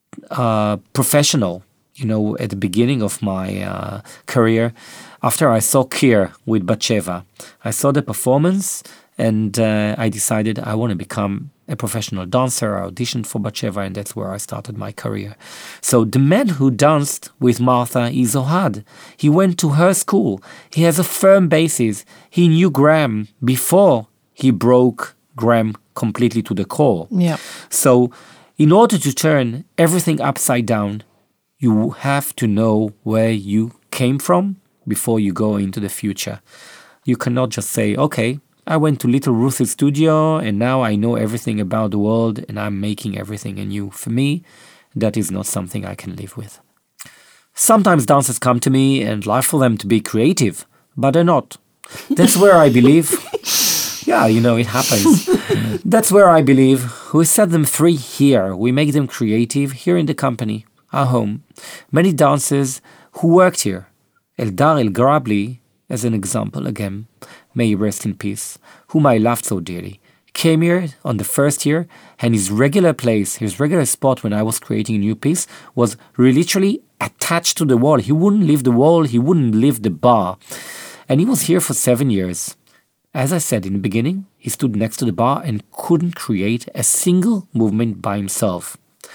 professional, at the beginning of my career, after I saw Kir with Batsheva. I saw the performance and I decided I want to become a professional dancer. I auditioned for Batsheva and that's where I started my career. So the man who danced with Martha is Ohad. He went to her school. He has a firm basis. He knew Graham before he broke Graham completely to the core. Yeah. So in order to turn everything upside down, you have to know where you came from before you go into the future. You cannot just say, okay, I went to Little Ruth's studio and now I know everything about the world and I'm making everything anew. For me, that is not something I can live with. Sometimes dancers come to me and like for them to be creative, but they're not. That's where I believe... Yeah, it happens. That's where I believe we set them free here. We make them creative here in the company, our home. Many dancers who worked here, Eldar El-Grabli, as an example again, may he rest in peace, whom I loved so dearly, came here on the first year and his regular place, his regular spot when I was creating a new piece was literally attached to the wall. He wouldn't leave the wall, he wouldn't leave the bar. And he was here for 7 years. As I said in the beginning, he stood next to the bar and couldn't create a single movement by himself.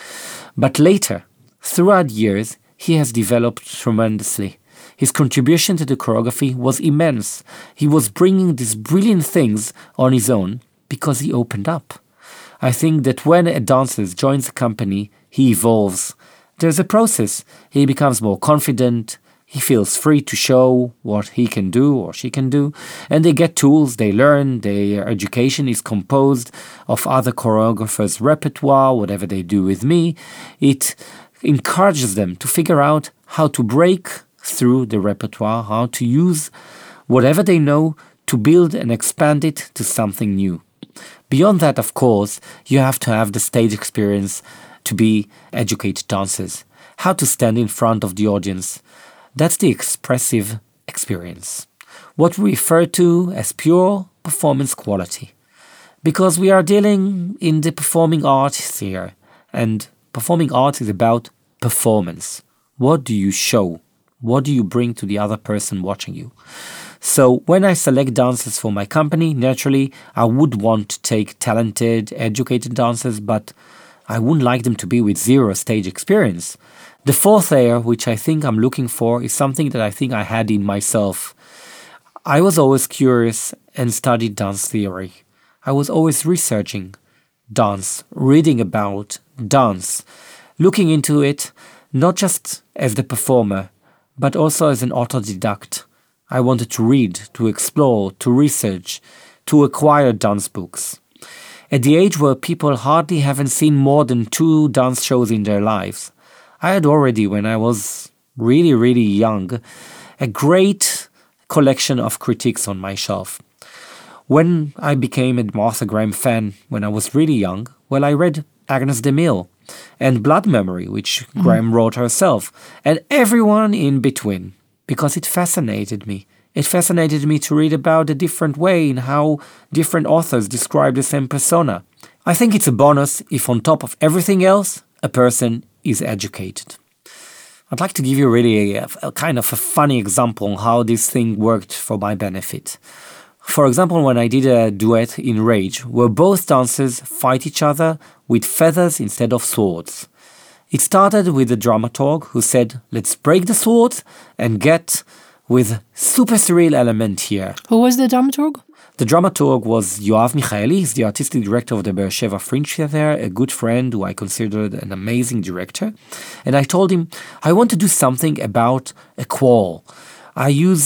But later, throughout years, he has developed tremendously. His contribution to the choreography was immense. He was bringing these brilliant things on his own because he opened up. I think that when a dancer joins a company, he evolves. There's a process. He becomes more confident. He feels free to show what he can do or she can do. And they get tools, they learn, their education is composed of other choreographers' repertoire, whatever they do with me. It encourages them to figure out how to break through the repertoire, how to use whatever they know to build and expand it to something new. Beyond that, of course, you have to have the stage experience to be educated dancers. How to stand in front of the audience. That's the expressive experience. What we refer to as pure performance quality. Because we are dealing in the performing arts here. And performing arts is about performance. What do you show? What do you bring to the other person watching you? So when I select dancers for my company, naturally, I would want to take talented, educated dancers, but I wouldn't like them to be with zero stage experience. The fourth layer, which I think I'm looking for, is something that I think I had in myself. I was always curious and studied dance theory. I was always researching dance, reading about dance, looking into it, not just as the performer, but also as an autodidact. I wanted to read, to explore, to research, to acquire dance books. At the age where people hardly haven't seen more than 2 dance shows in their lives, I had already, when I was really, really young, a great collection of critiques on my shelf. When I became a Martha Graham fan when I was really young, well, I read Agnes DeMille and Blood Memory, which Graham wrote herself, and everyone in between, because it fascinated me. It fascinated me to read about a different way in how different authors describe the same persona. I think it's a bonus if on top of everything else, a person is educated. I'd like to give you really a kind of a funny example on how this thing worked for my benefit. For example, when I did a duet in Rage, where both dancers fight each other with feathers instead of swords. It started with the dramaturg who said, let's break the swords and get with super surreal element here. Who was the dramaturg? The dramaturg was Yoav Michaeli. He's the artistic director of the Be'er Sheva Fringe Theater, a good friend who I considered an amazing director. And I told him, I want to do something about a quarrel. I use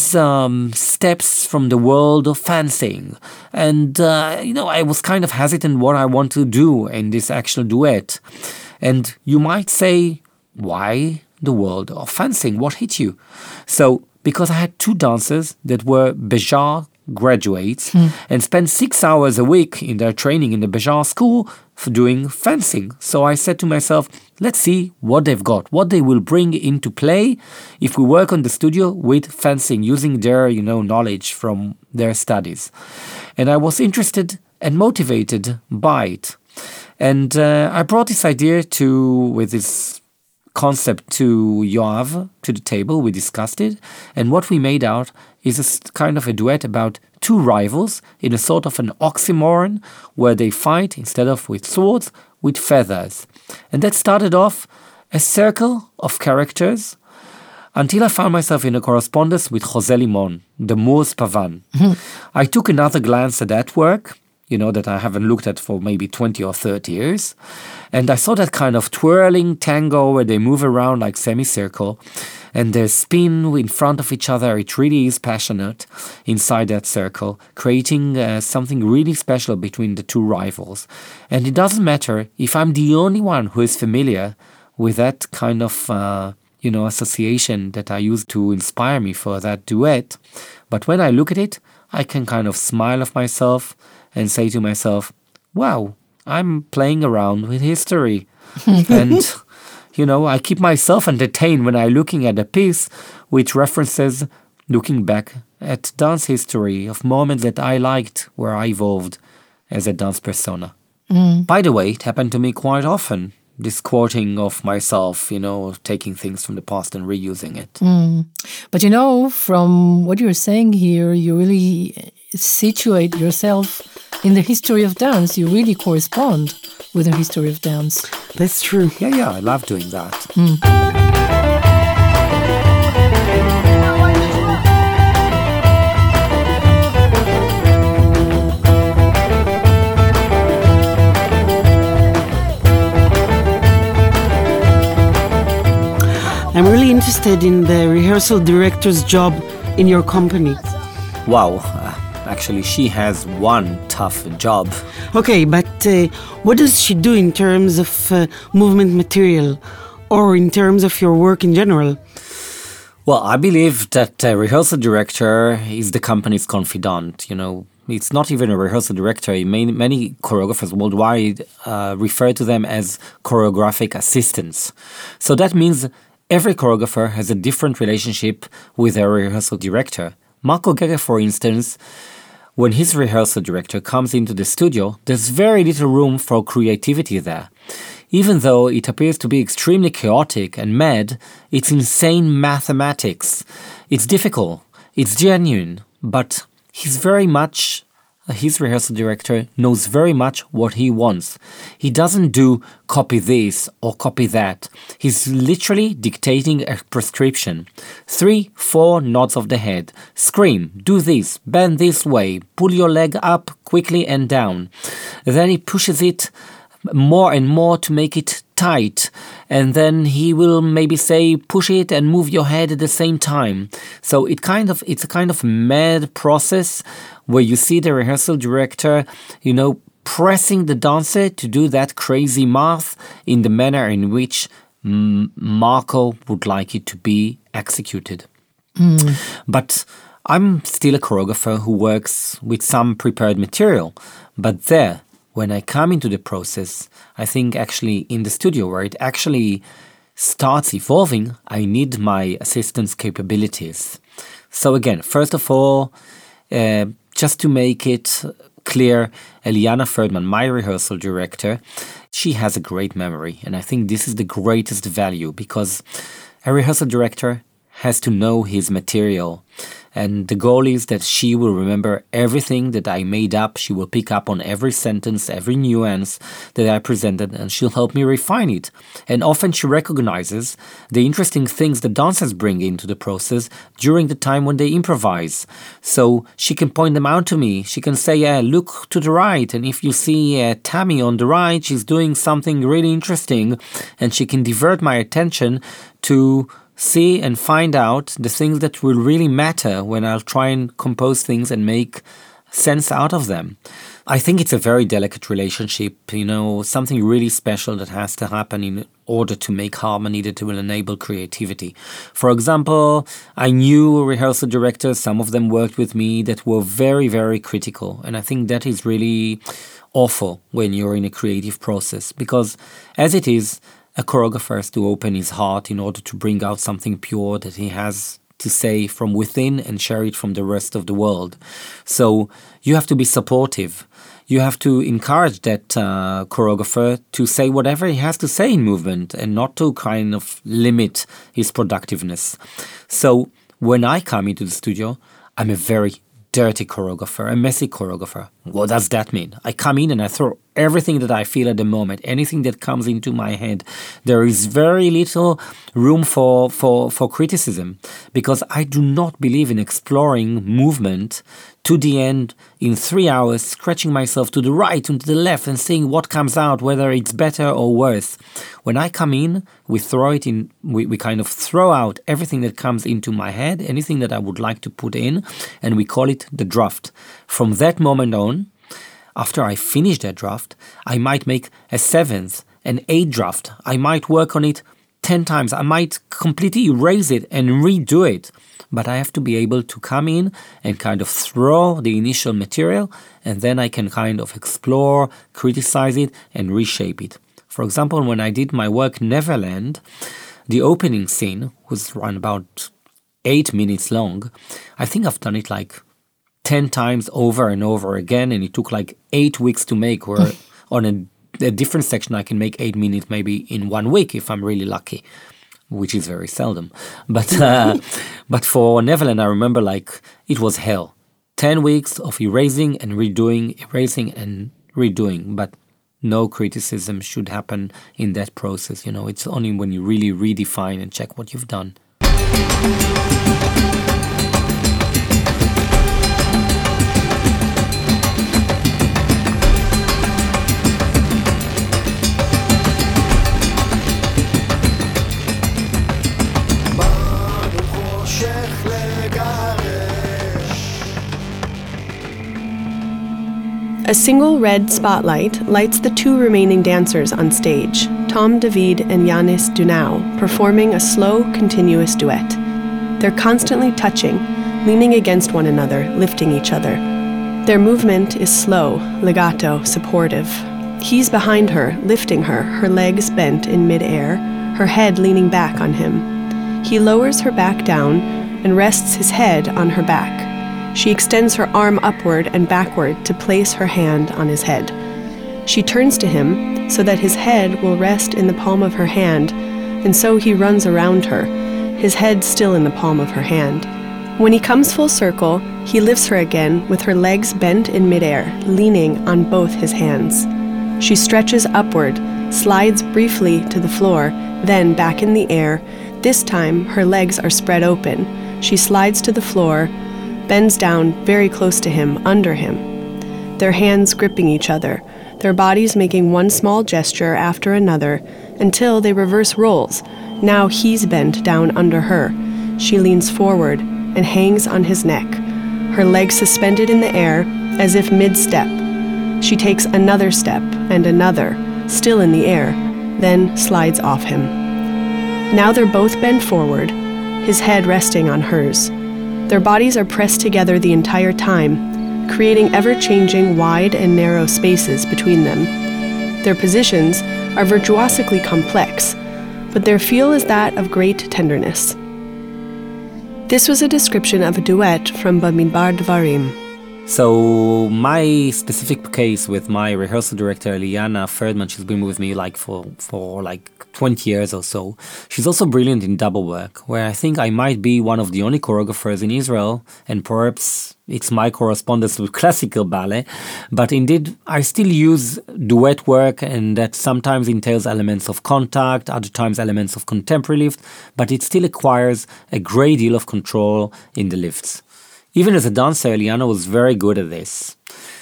steps from the world of fencing. And, I was kind of hesitant what I want to do in this actual duet. And you might say, why the world of fencing? What hit you? So, because I had 2 dancers that were Bejar graduates and spent 6 hours a week in their training in the Bejar school for doing fencing. So I said to myself, let's see what they've got, what they will bring into play if we work on the studio with fencing, using their, knowledge from their studies. And I was interested and motivated by it. And I brought this idea with this concept to Yoav, to the table. We discussed it. And what we made out is a kind of a duet about 2 rivals in a sort of an oxymoron where they fight, instead of with swords, with feathers. And that started off a circle of characters until I found myself in a correspondence with José Limón, the Moors Pavan. I took another glance at that work, that I haven't looked at for maybe 20 or 30 years. And I saw that kind of twirling tango where they move around like semicircle and they spin in front of each other. It really is passionate inside that circle, creating something really special between the 2 rivals. And it doesn't matter if I'm the only one who is familiar with that kind of, association that I used to inspire me for that duet. But when I look at it, I can kind of smile at myself and say to myself, wow, I'm playing around with history. And, I keep myself entertained when I'm looking at a piece which references looking back at dance history of moments that I liked where I evolved as a dance persona. By the way, it happened to me quite often, this quoting of myself, taking things from the past and reusing it. But from what you're saying here, you really situate yourself in the history of dance. You really correspond with the history of dance. That's true. Yeah, I love doing that. I'm really interested in the rehearsal director's job in your company. Wow. Actually, she has one tough job. Okay, but what does she do in terms of movement material or in terms of your work in general? Well, I believe that a rehearsal director is the company's confidant. It's not even a rehearsal director. Many choreographers worldwide refer to them as choreographic assistants. So that means every choreographer has a different relationship with their rehearsal director. Marco Gege, for instance, when his rehearsal director comes into the studio, there's very little room for creativity there. Even though it appears to be extremely chaotic and mad, it's insane mathematics. It's difficult, it's genuine, but his rehearsal director knows very much what he wants. He doesn't do copy this or copy that. He's literally dictating a prescription. 3-4 nods of the head. Scream, do this, bend this way, pull your leg up quickly and down. Then he pushes it more and more to make it tight, and then he will maybe say push it and move your head at the same time. So it's a kind of mad process where you see the rehearsal director, pressing the dancer to do that crazy math in the manner in which Marco would like it to be executed. But I'm still a choreographer who works with some prepared material, but when I come into the process, I think actually in the studio where it actually starts evolving, I need my assistant's capabilities. So again, first of all, just to make it clear, Eliana Ferdman, my rehearsal director, she has a great memory. And I think this is the greatest value because a rehearsal director has to know his material. And the goal is that she will remember everything that I made up. She will pick up on every sentence, every nuance that I presented, and she'll help me refine it. And often she recognizes the interesting things the dancers bring into the process during the time when they improvise. So she can point them out to me. She can say, look to the right. And if you see Tammy on the right, she's doing something really interesting. And she can divert my attention to see and find out the things that will really matter when I'll try and compose things and make sense out of them. I think it's a very delicate relationship, something really special that has to happen in order to make harmony that will enable creativity. For example, I knew rehearsal directors, some of them worked with me, that were very, very critical. And I think that is really awful when you're in a creative process because as it is, a choreographer has to open his heart in order to bring out something pure that he has to say from within and share it from the rest of the world. So you have to be supportive. You have to encourage that choreographer to say whatever he has to say in movement and not to kind of limit his productiveness. So when I come into the studio, I'm a very dirty choreographer, a messy choreographer. What does that mean? I come in and I throw everything that I feel at the moment, anything that comes into my head. There is very little room for criticism because I do not believe in exploring movement to the end in 3 hours, scratching myself to the right and to the left and seeing what comes out, whether it's better or worse. When I come in, we kind of throw out everything that comes into my head, anything that I would like to put in, and we call it the draft. From that moment on, after I finish that draft, I might make a 7th, an 8th draft. I might work on it 10 times. I might completely erase it and redo it. But I have to be able to come in and kind of throw the initial material, and then I can kind of explore, criticize it, and reshape it. For example, when I did my work Neverland, the opening scene was around about 8 minutes long. I think I've done it like 10 times over and over again, and it took like 8 weeks to make, where on a different section I can make 8 minutes maybe in 1 week if I'm really lucky, which is very seldom. But for Neverland, I remember like it was hell. 10 weeks of erasing and redoing, erasing and redoing, but no criticism should happen in that process. It's only when you really redefine and check what you've done. A single red spotlight lights the 2 remaining dancers on stage, Tom David and Yanis Dunau, performing a slow, continuous duet. They're constantly touching, leaning against one another, lifting each other. Their movement is slow, legato, supportive. He's behind her, lifting her, her legs bent in midair, her head leaning back on him. He lowers her back down and rests his head on her back. She extends her arm upward and backward to place her hand on his head. She turns to him so that his head will rest in the palm of her hand, and so he runs around her, his head still in the palm of her hand. When he comes full circle, he lifts her again with her legs bent in midair, leaning on both his hands. She stretches upward, slides briefly to the floor, then back in the air. This time, her legs are spread open. She slides to the floor, bends down very close to him, under him. Their hands gripping each other, their bodies making one small gesture after another, until they reverse roles. Now he's bent down under her. She leans forward and hangs on his neck, her legs suspended in the air as if mid-step. She takes another step and another, still in the air, then slides off him. Now they're both bent forward, his head resting on hers. Their bodies are pressed together the entire time, creating ever-changing wide and narrow spaces between them. Their positions are virtuosically complex, but their feel is that of great tenderness. This was a description of a duet from Bamidbar Dvarim. So my specific case with my rehearsal director, Liana Ferdman, she's been with me for 20 years or so. She's also brilliant in double work, where I think I might be one of the only choreographers in Israel, and perhaps it's my correspondence with classical ballet, but indeed I still use duet work, and that sometimes entails elements of contact, other times elements of contemporary lift, but it still acquires a great deal of control in the lifts. Even as a dancer, Liana was very good at this.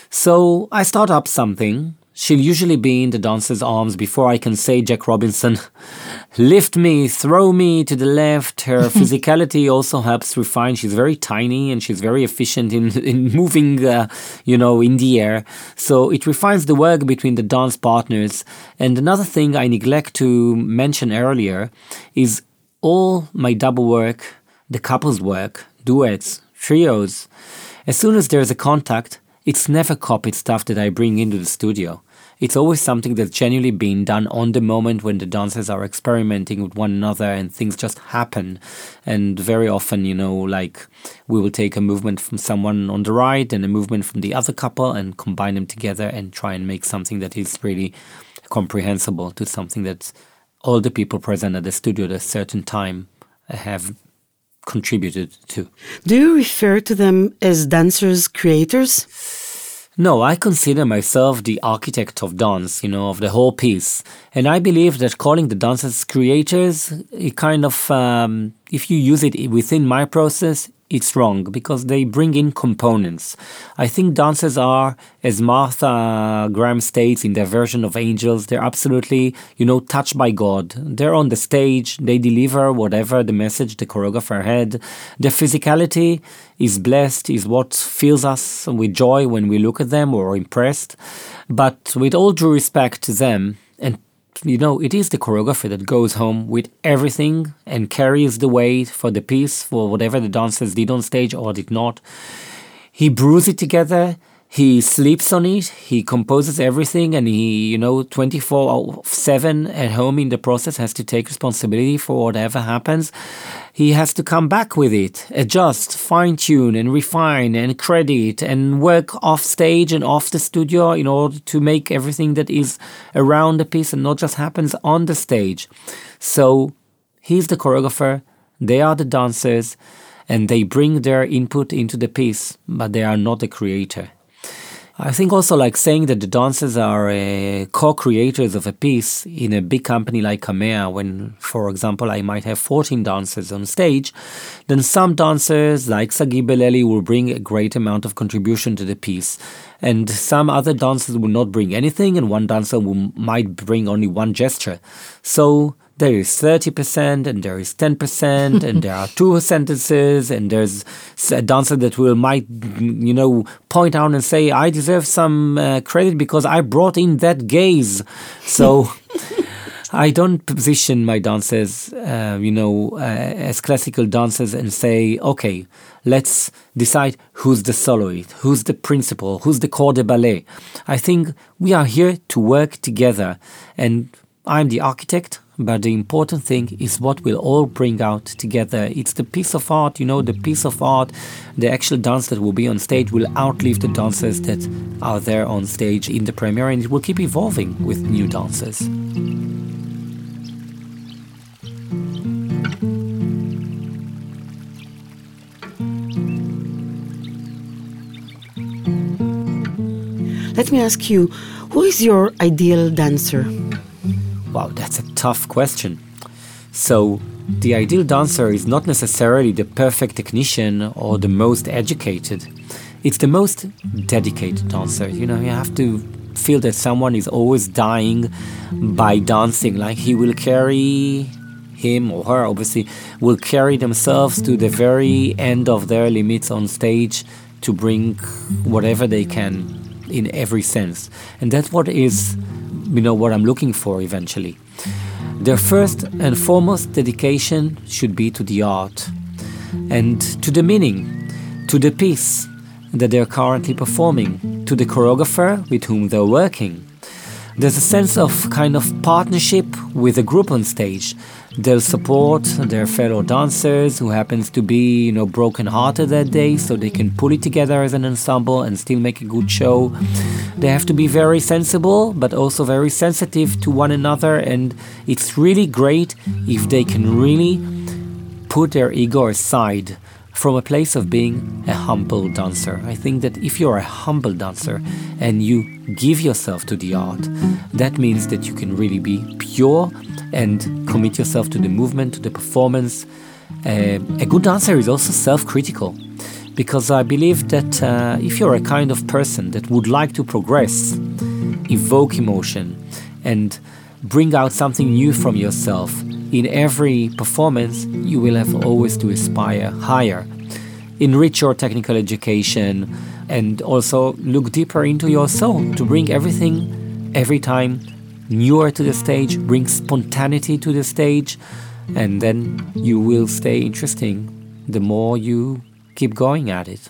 So I start up something. She'll usually be in the dancer's arms before I can say Jack Robinson, lift me, throw me to the left. Her physicality also helps refine. She's very tiny and she's very efficient in moving, in the air. So it refines the work between the dance partners. And another thing I neglect to mention earlier is all my double work, the couples work, duets, trios. As soon as there's a contact, it's never copied stuff that I bring into the studio. It's always something that's genuinely being done on the moment when the dancers are experimenting with one another and things just happen. And very often, we will take a movement from someone on the right and a movement from the other couple and combine them together and try and make something that is really comprehensible to something that all the people present at the studio at a certain time have contributed to. Do you refer to them as dancers, creators? No, I consider myself the architect of dance, of the whole piece. And I believe that calling the dancers creators, it kind of, if you use it within my process, it's wrong because they bring in components. I think dancers are, as Martha Graham states in their version of Angels, they're absolutely, touched by God. They're on the stage, they deliver whatever the message the choreographer had. Their physicality is blessed, is what fills us with joy when we look at them or impressed. But with all due respect to them, and it is the choreographer that goes home with everything and carries the weight for the piece, for whatever the dancers did on stage or did not. He brews it together, he sleeps on it, he composes everything, and he, 24/7 at home in the process has to take responsibility for whatever happens. He has to come back with it, adjust, fine-tune and refine and credit and work off stage and off the studio in order to make everything that is around the piece and not just happens on the stage. So he's the choreographer, they are the dancers, and they bring their input into the piece, but they are not the creator. I think also saying that the dancers are co-creators of a piece in a big company like Kamea, when, for example, I might have 14 dancers on stage, then some dancers like Sagi Beleli will bring a great amount of contribution to the piece. And some other dancers will not bring anything, and one dancer might bring only one gesture. So there is 30% and there is 10% and there are 2 sentences and there's a dancer that might point out and say, I deserve some credit because I brought in that gaze. So I don't position my dancers, as classical dancers and say, okay, let's decide who's the soloist, who's the principal, who's the corps de ballet. I think we are here to work together, and I'm the architect, but the important thing is what we'll all bring out together. It's the piece of art, the piece of art, the actual dance that will be on stage will outlive the dancers that are there on stage in the premiere, and it will keep evolving with new dancers. Let me ask you, who is your ideal dancer? Wow, that's a tough question. So, the ideal dancer is not necessarily the perfect technician or the most educated. It's the most dedicated dancer. You have to feel that someone is always dying by dancing, like him or her obviously will carry themselves to the very end of their limits on stage to bring whatever they can in every sense. And that's what is, what I'm looking for eventually. Their first and foremost dedication should be to the art and to the meaning, to the piece that they're currently performing, to the choreographer with whom they're working. There's a sense of kind of partnership with a group on stage. They'll support their fellow dancers who happens to be, broken-hearted that day, so they can pull it together as an ensemble and still make a good show. They have to be very sensible, but also very sensitive to one another, and it's really great if they can really put their ego aside from a place of being a humble dancer. I think that if you're a humble dancer and you give yourself to the art, that means that you can really be pure and commit yourself to the movement, to the performance. A good dancer is also self-critical, because I believe that if you're a kind of person that would like to progress, evoke emotion, and bring out something new from yourself in every performance, you will have always to aspire higher. Enrich your technical education and also look deeper into your soul to bring everything every time newer to the stage, bring spontaneity to the stage, and then you will stay interesting the more you keep going at it.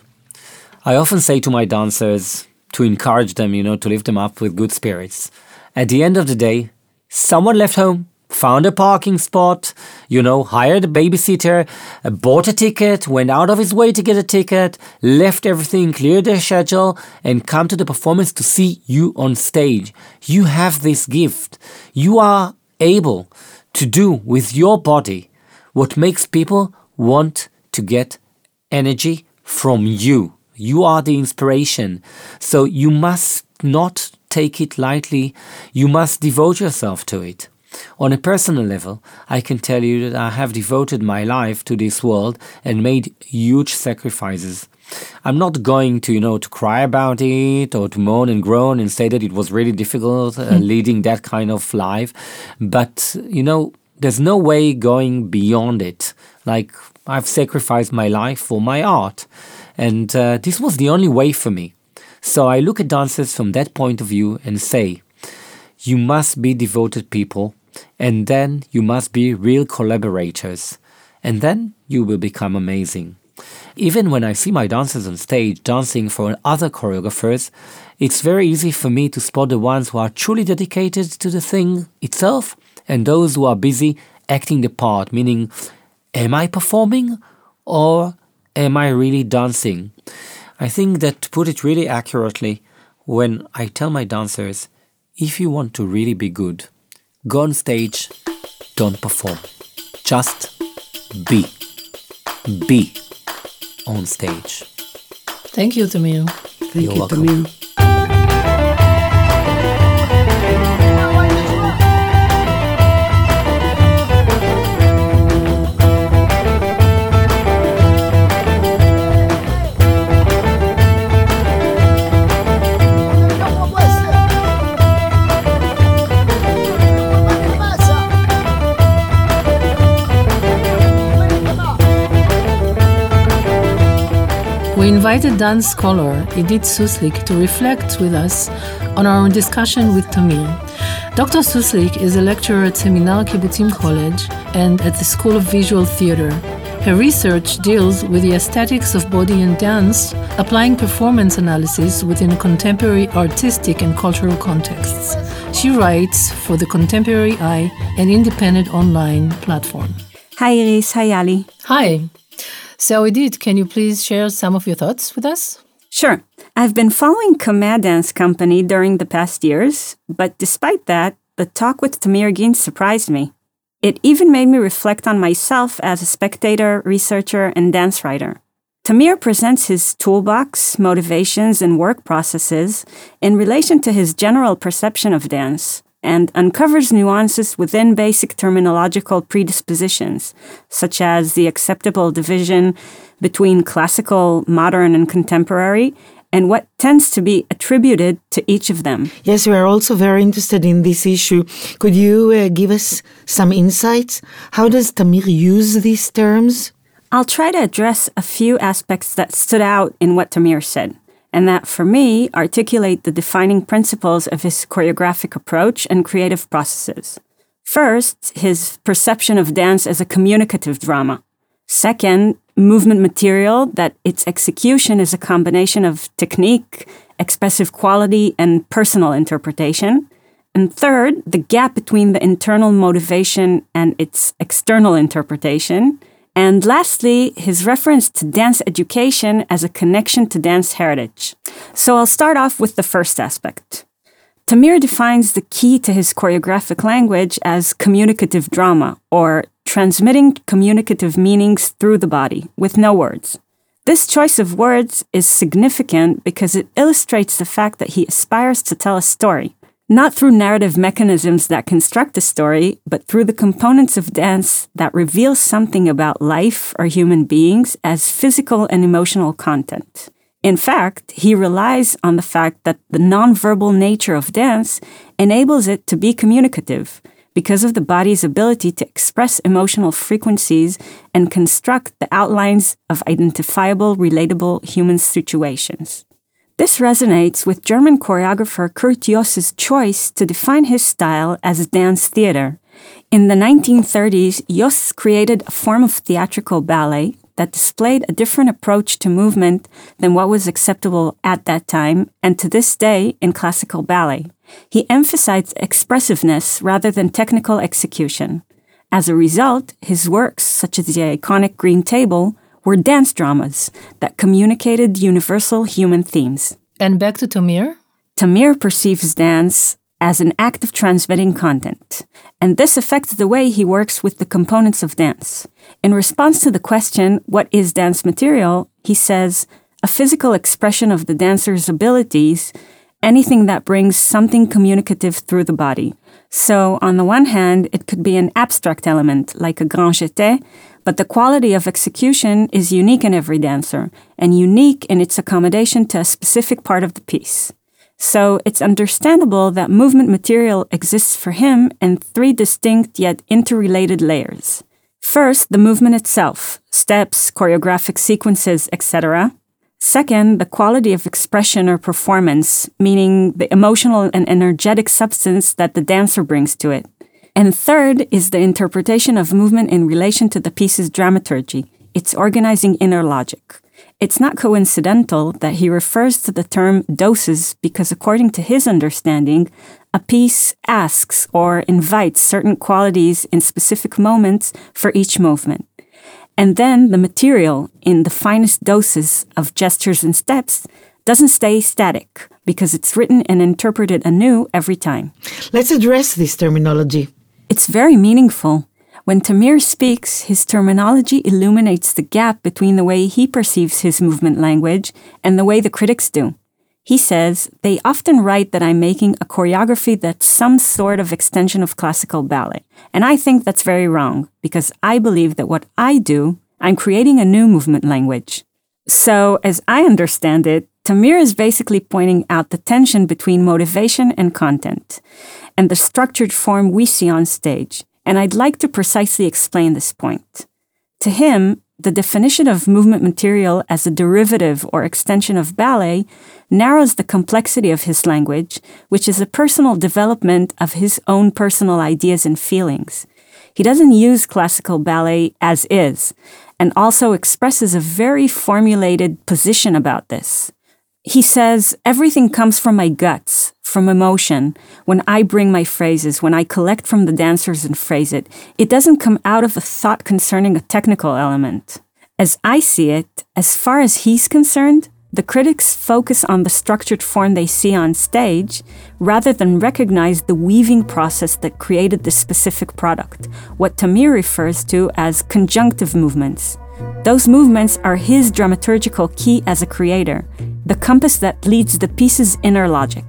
I often say to my dancers to encourage them, to lift them up with good spirits. At the end of the day, someone left home, found a parking spot, hired a babysitter, bought a ticket, went out of his way to get a ticket, left everything, cleared their schedule, and come to the performance to see you on stage. You have this gift. You are able to do with your body what makes people want to get energy from you. You are the inspiration. So you must not take it lightly. You must devote yourself to it. On a personal level, I can tell you that I have devoted my life to this world and made huge sacrifices. I'm not going to, to cry about it or to moan and groan and say that it was really difficult leading that kind of life. But, there's no way going beyond it. Like, I've sacrificed my life for my art. And this was the only way for me. So I look at dancers from that point of view and say, you must be devoted people, and then you must be real collaborators, and then you will become amazing. Even when I see my dancers on stage dancing for other choreographers, it's very easy for me to spot the ones who are truly dedicated to the thing itself and those who are busy acting the part, meaning, am I performing or am I really dancing? I think that, to put it really accurately, when I tell my dancers, if you want to really be good, go on stage, don't perform. Just be. Be on stage. Thank you, Tamir. You're welcome. Tamir. We invited dance scholar Idit Suslik to reflect with us on our discussion with Tamir. Dr. Suslik is a lecturer at Seminar Kibbutzim College and at the School of Visual Theater. Her research deals with the aesthetics of body and dance, applying performance analysis within contemporary artistic and cultural contexts. She writes for The Contemporary Eye, an independent online platform. Hi Iris, hi Ali. Hi. So Idit, can you please share some of your thoughts with us? Sure. I've been following Kamea Dance Company during the past years, but despite that, the talk with Tamir Gintz surprised me. It even made me reflect on myself as a spectator, researcher, and dance writer. Tamir presents his toolbox, motivations, and work processes in relation to his general perception of dance, and uncovers nuances within basic terminological predispositions, such as the acceptable division between classical, modern, and contemporary, and what tends to be attributed to each of them. Yes, we are also very interested in this issue. Could you give us some insights? How does Tamir use these terms? I'll try to address a few aspects that stood out in what Tamir said, and that, for me, articulate the defining principles of his choreographic approach and creative processes. First, his perception of dance as a communicative drama. Second, movement material, that its execution is a combination of technique, expressive quality, and personal interpretation. And third, the gap between the internal motivation and its external interpretation. And lastly, his reference to dance education as a connection to dance heritage. So I'll start off with the first aspect. Tamir defines the key to his choreographic language as communicative drama, or transmitting communicative meanings through the body, with no words. This choice of words is significant because it illustrates the fact that he aspires to tell a story, not through narrative mechanisms that construct a story, but through the components of dance that reveal something about life or human beings as physical and emotional content. In fact, he relies on the fact that the nonverbal nature of dance enables it to be communicative because of the body's ability to express emotional frequencies and construct the outlines of identifiable, relatable human situations. This resonates with German choreographer Kurt Jooss's choice to define his style as dance theater. In the 1930s, Jooss created a form of theatrical ballet that displayed a different approach to movement than what was acceptable at that time and to this day in classical ballet. He emphasized expressiveness rather than technical execution. As a result, his works, such as the iconic Green Table, were dance dramas that communicated universal human themes. And back to Tamir? Tamir perceives dance as an act of transmitting content, and this affects the way he works with the components of dance. In response to the question, what is dance material, he says, a physical expression of the dancer's abilities, anything that brings something communicative through the body. So, on the one hand, it could be an abstract element, like a grand jeté, but the quality of execution is unique in every dancer, and unique in its accommodation to a specific part of the piece. So it's understandable that movement material exists for him in three distinct yet interrelated layers. First, the movement itself, steps, choreographic sequences, etc. Second, the quality of expression or performance, meaning the emotional and energetic substance that the dancer brings to it. And third is the interpretation of movement in relation to the piece's dramaturgy, its organizing inner logic. It's not coincidental that he refers to the term doses because, according to his understanding, a piece asks or invites certain qualities in specific moments for each movement. And then the material, in the finest doses of gestures and steps, doesn't stay static because it's written and interpreted anew every time. Let's address this terminology. It's very meaningful. When Tamir speaks, his terminology illuminates the gap between the way he perceives his movement language and the way the critics do. He says, they often write that I'm making a choreography that's some sort of extension of classical ballet. And I think that's very wrong, because I believe that what I do, I'm creating a new movement language. So, as I understand it, Tamir is basically pointing out the tension between motivation and content, and the structured form we see on stage. And I'd like to precisely explain this point. To him, the definition of movement material as a derivative or extension of ballet narrows the complexity of his language, which is a personal development of his own personal ideas and feelings. He doesn't use classical ballet as is, and also expresses a very formulated position about this. He says, everything comes from my guts, from emotion. When I bring my phrases, when I collect from the dancers and phrase it, it doesn't come out of a thought concerning a technical element. As I see it, as far as he's concerned, the critics focus on the structured form they see on stage rather than recognize the weaving process that created this specific product, what Tamir refers to as conjunctive movements. Those movements are his dramaturgical key as a creator, the compass that leads the piece's inner logic.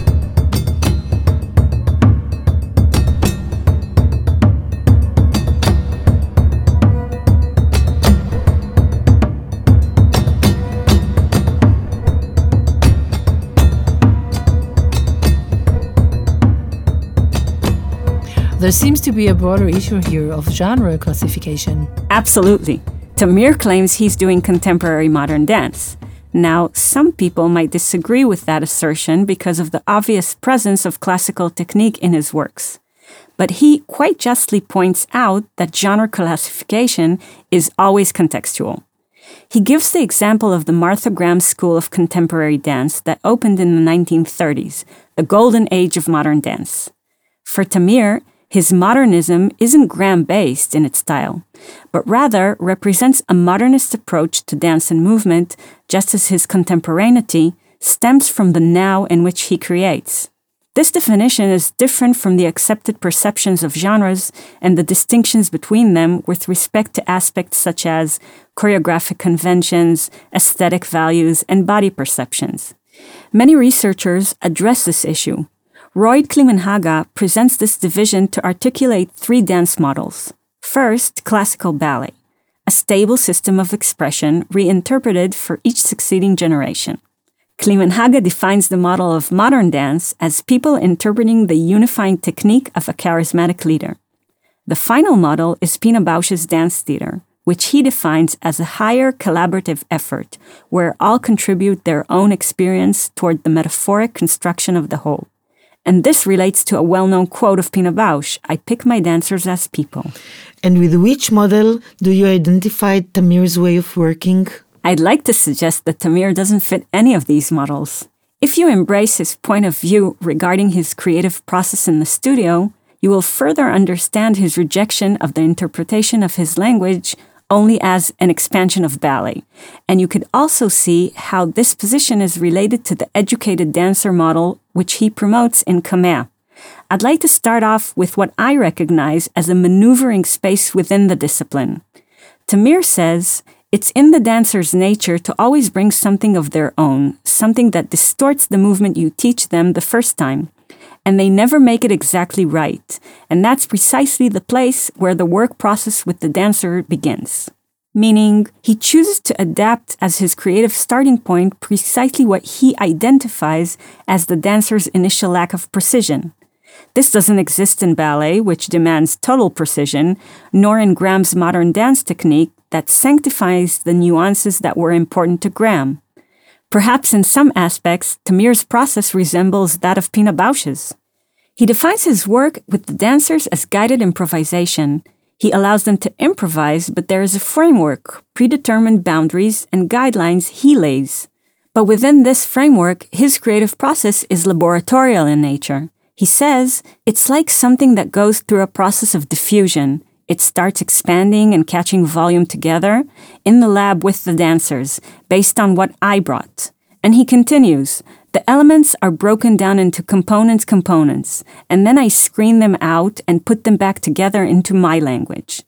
There seems to be a broader issue here of genre classification. Absolutely. Tamir claims he's doing contemporary modern dance. Now, some people might disagree with that assertion because of the obvious presence of classical technique in his works. But he quite justly points out that genre classification is always contextual. He gives the example of the Martha Graham School of Contemporary Dance that opened in the 1930s, the golden age of modern dance. For Tamir, his modernism isn't Graham-based in its style, but rather represents a modernist approach to dance and movement, just as his contemporaneity stems from the now in which he creates. This definition is different from the accepted perceptions of genres and the distinctions between them with respect to aspects such as choreographic conventions, aesthetic values, and body perceptions. Many researchers address this issue. Roy Klimenhaga presents this division to articulate three dance models. First, classical ballet, a stable system of expression reinterpreted for each succeeding generation. Klimenhaga defines the model of modern dance as people interpreting the unifying technique of a charismatic leader. The final model is Pina Bausch's dance theater, which he defines as a higher collaborative effort, where all contribute their own experience toward the metaphoric construction of the whole. And this relates to a well-known quote of Pina Bausch, "I pick my dancers as people." And with which model do you identify Tamir's way of working? I'd like to suggest that Tamir doesn't fit any of these models. If you embrace his point of view regarding his creative process in the studio, you will further understand his rejection of the interpretation of his language only as an expansion of ballet. And you could also see how this position is related to the educated dancer model which he promotes in Kamea. I'd like to start off with what I recognize as a maneuvering space within the discipline. Tamir says, it's in the dancer's nature to always bring something of their own, something that distorts the movement you teach them the first time. And they never make it exactly right. And that's precisely the place where the work process with the dancer begins. Meaning, he chooses to adapt as his creative starting point precisely what he identifies as the dancer's initial lack of precision. This doesn't exist in ballet, which demands total precision, nor in Graham's modern dance technique that sanctifies the nuances that were important to Graham. Perhaps in some aspects, Tamir's process resembles that of Pina Bausch's. He defines his work with the dancers as guided improvisation. He allows them to improvise, but there is a framework, predetermined boundaries, and guidelines he lays. But within this framework, his creative process is laboratorial in nature. He says, it's like something that goes through a process of diffusion. It starts expanding and catching volume together in the lab with the dancers, based on what I brought. And he continues, the elements are broken down into components, and then I screen them out and put them back together into my language.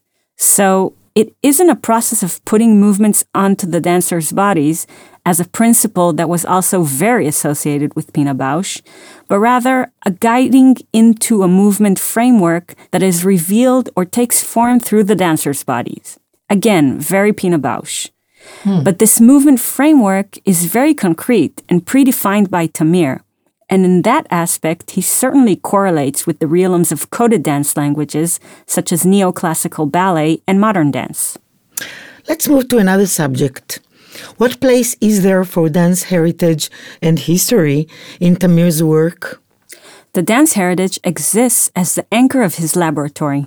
So it isn't a process of putting movements onto the dancers' bodies as a principle that was also very associated with Pina Bausch, but rather a guiding into a movement framework that is revealed or takes form through the dancers' bodies. Again, very Pina Bausch. But this movement framework is very concrete and predefined by Tamir, and in that aspect, he certainly correlates with the realms of coded dance languages, such as neoclassical ballet and modern dance. Let's move to another subject. What place is there for dance heritage and history in Tamir's work? The dance heritage exists as the anchor of his laboratory.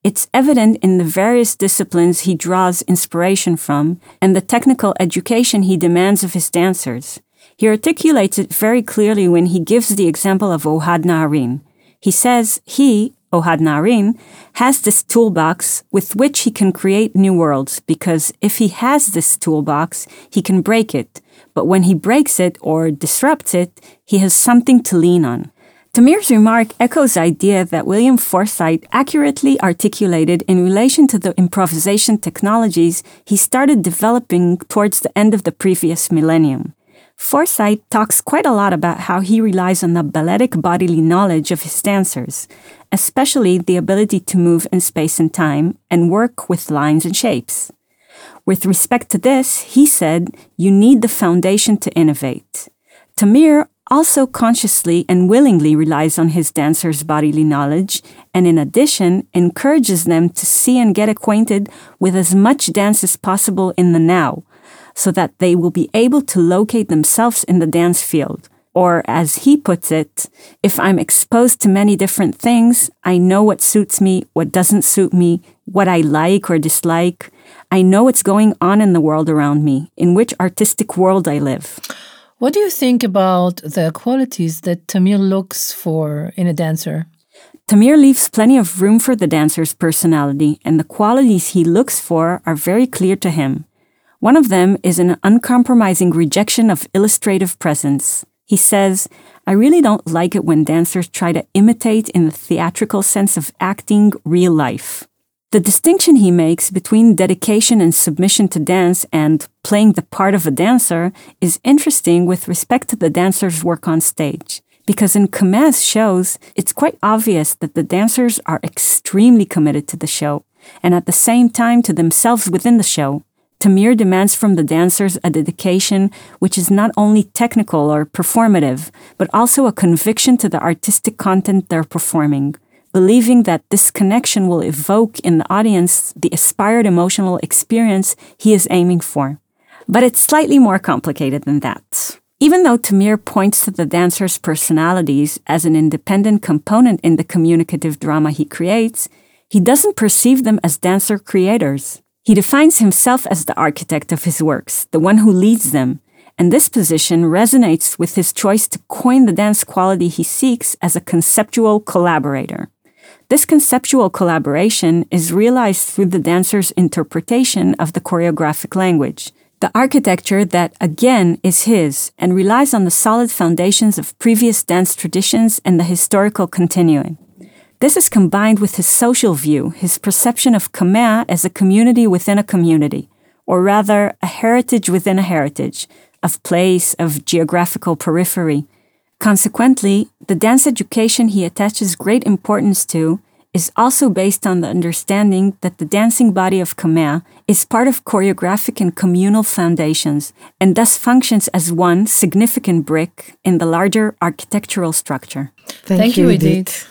It's evident in the various disciplines he draws inspiration from and the technical education he demands of his dancers. He articulates it very clearly when he gives the example of Ohad Naharin. He says he, Ohad Naharin, has this toolbox with which he can create new worlds, because if he has this toolbox, he can break it. But when he breaks it or disrupts it, he has something to lean on. Tamir's remark echoes the idea that William Forsythe accurately articulated in relation to the improvisation technologies he started developing towards the end of the previous millennium. Forsythe talks quite a lot about how he relies on the balletic bodily knowledge of his dancers, especially the ability to move in space and time and work with lines and shapes. With respect to this, he said, you need the foundation to innovate. Tamir also consciously and willingly relies on his dancers' bodily knowledge, and in addition, encourages them to see and get acquainted with as much dance as possible in the now, so that they will be able to locate themselves in the dance field. Or, as he puts it, if I'm exposed to many different things, I know what suits me, what doesn't suit me, what I like or dislike. I know what's going on in the world around me, in which artistic world I live. What do you think about the qualities that Tamir looks for in a dancer? Tamir leaves plenty of room for the dancer's personality, and the qualities he looks for are very clear to him. One of them is an uncompromising rejection of illustrative presence. He says, I really don't like it when dancers try to imitate in the theatrical sense of acting real life. The distinction he makes between dedication and submission to dance and playing the part of a dancer is interesting with respect to the dancer's work on stage. Because in Kamea's shows, it's quite obvious that the dancers are extremely committed to the show, and at the same time to themselves within the show. Tamir demands from the dancers a dedication which is not only technical or performative, but also a conviction to the artistic content they're performing, believing that this connection will evoke in the audience the aspired emotional experience he is aiming for. But it's slightly more complicated than that. Even though Tamir points to the dancers' personalities as an independent component in the communicative drama he creates, he doesn't perceive them as dancer creators. He defines himself as the architect of his works, the one who leads them, and this position resonates with his choice to coin the dance quality he seeks as a conceptual collaborator. This conceptual collaboration is realized through the dancer's interpretation of the choreographic language, the architecture that, again, is his and relies on the solid foundations of previous dance traditions and the historical continuum. This is combined with his social view, his perception of Kamea as a community within a community, or rather, a heritage within a heritage, of place, of geographical periphery. Consequently, the dance education he attaches great importance to is also based on the understanding that the dancing body of Kamea is part of choreographic and communal foundations, and thus functions as one significant brick in the larger architectural structure. Thank you, Idit.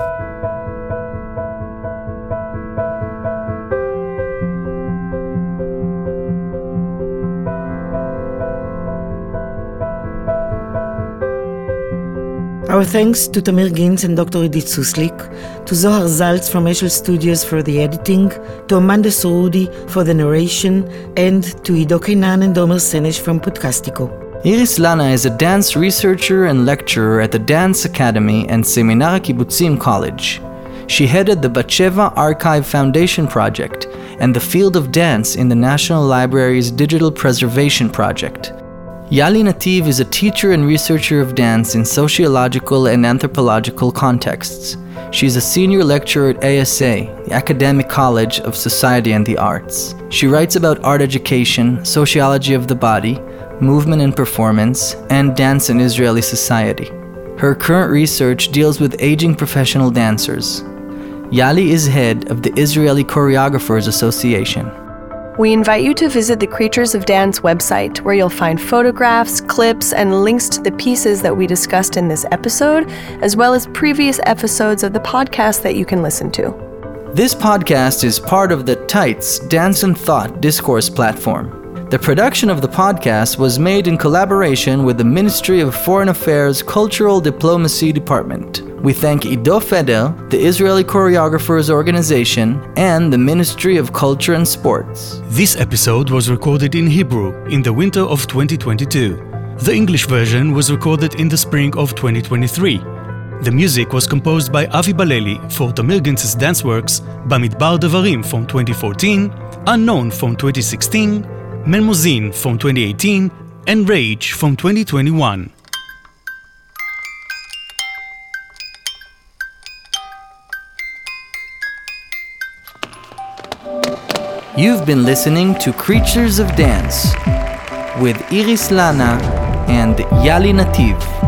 Our thanks to Tamir Gintz and Dr. Idit Suslik, to Zohar Zaltz from Eshel Studios for the editing, to Amanda Sorudi for the narration, and to Ido Kainan and Domer Senesh from Podcastico. Iris Lana is a dance researcher and lecturer at the Dance Academy and Seminar Kibbutzim College. She headed the Batsheva Archive Foundation Project and the Field of Dance in the National Library's Digital Preservation Project. Yali Nativ is a teacher and researcher of dance in sociological and anthropological contexts. She's a senior lecturer at ASA, the Academic College of Society and the Arts. She writes about art education, sociology of the body, movement and performance, and dance in Israeli society. Her current research deals with aging professional dancers. Yali is head of the Israeli Choreographers Association. We invite you to visit the Creatures of Dance website, where you'll find photographs, clips, and links to the pieces that we discussed in this episode, as well as previous episodes of the podcast that you can listen to. This podcast is part of the TITES Dance and Thought discourse platform. The production of the podcast was made in collaboration with the Ministry of Foreign Affairs Cultural Diplomacy Department, We thank Ido Feder, the Israeli Choreographers Organization, and the Ministry of Culture and Sports. This episode was recorded in Hebrew in the winter of 2022. The English version was recorded in the spring of 2023. The music was composed by Avi Baleli for Tamir Gintz's dance works Bamidbar Devarim from 2014, Unknown from 2016, Melmozin from 2018, and Rage from 2021. You've been listening to Creatures of Dance with Iris Lana and Yali Nativ.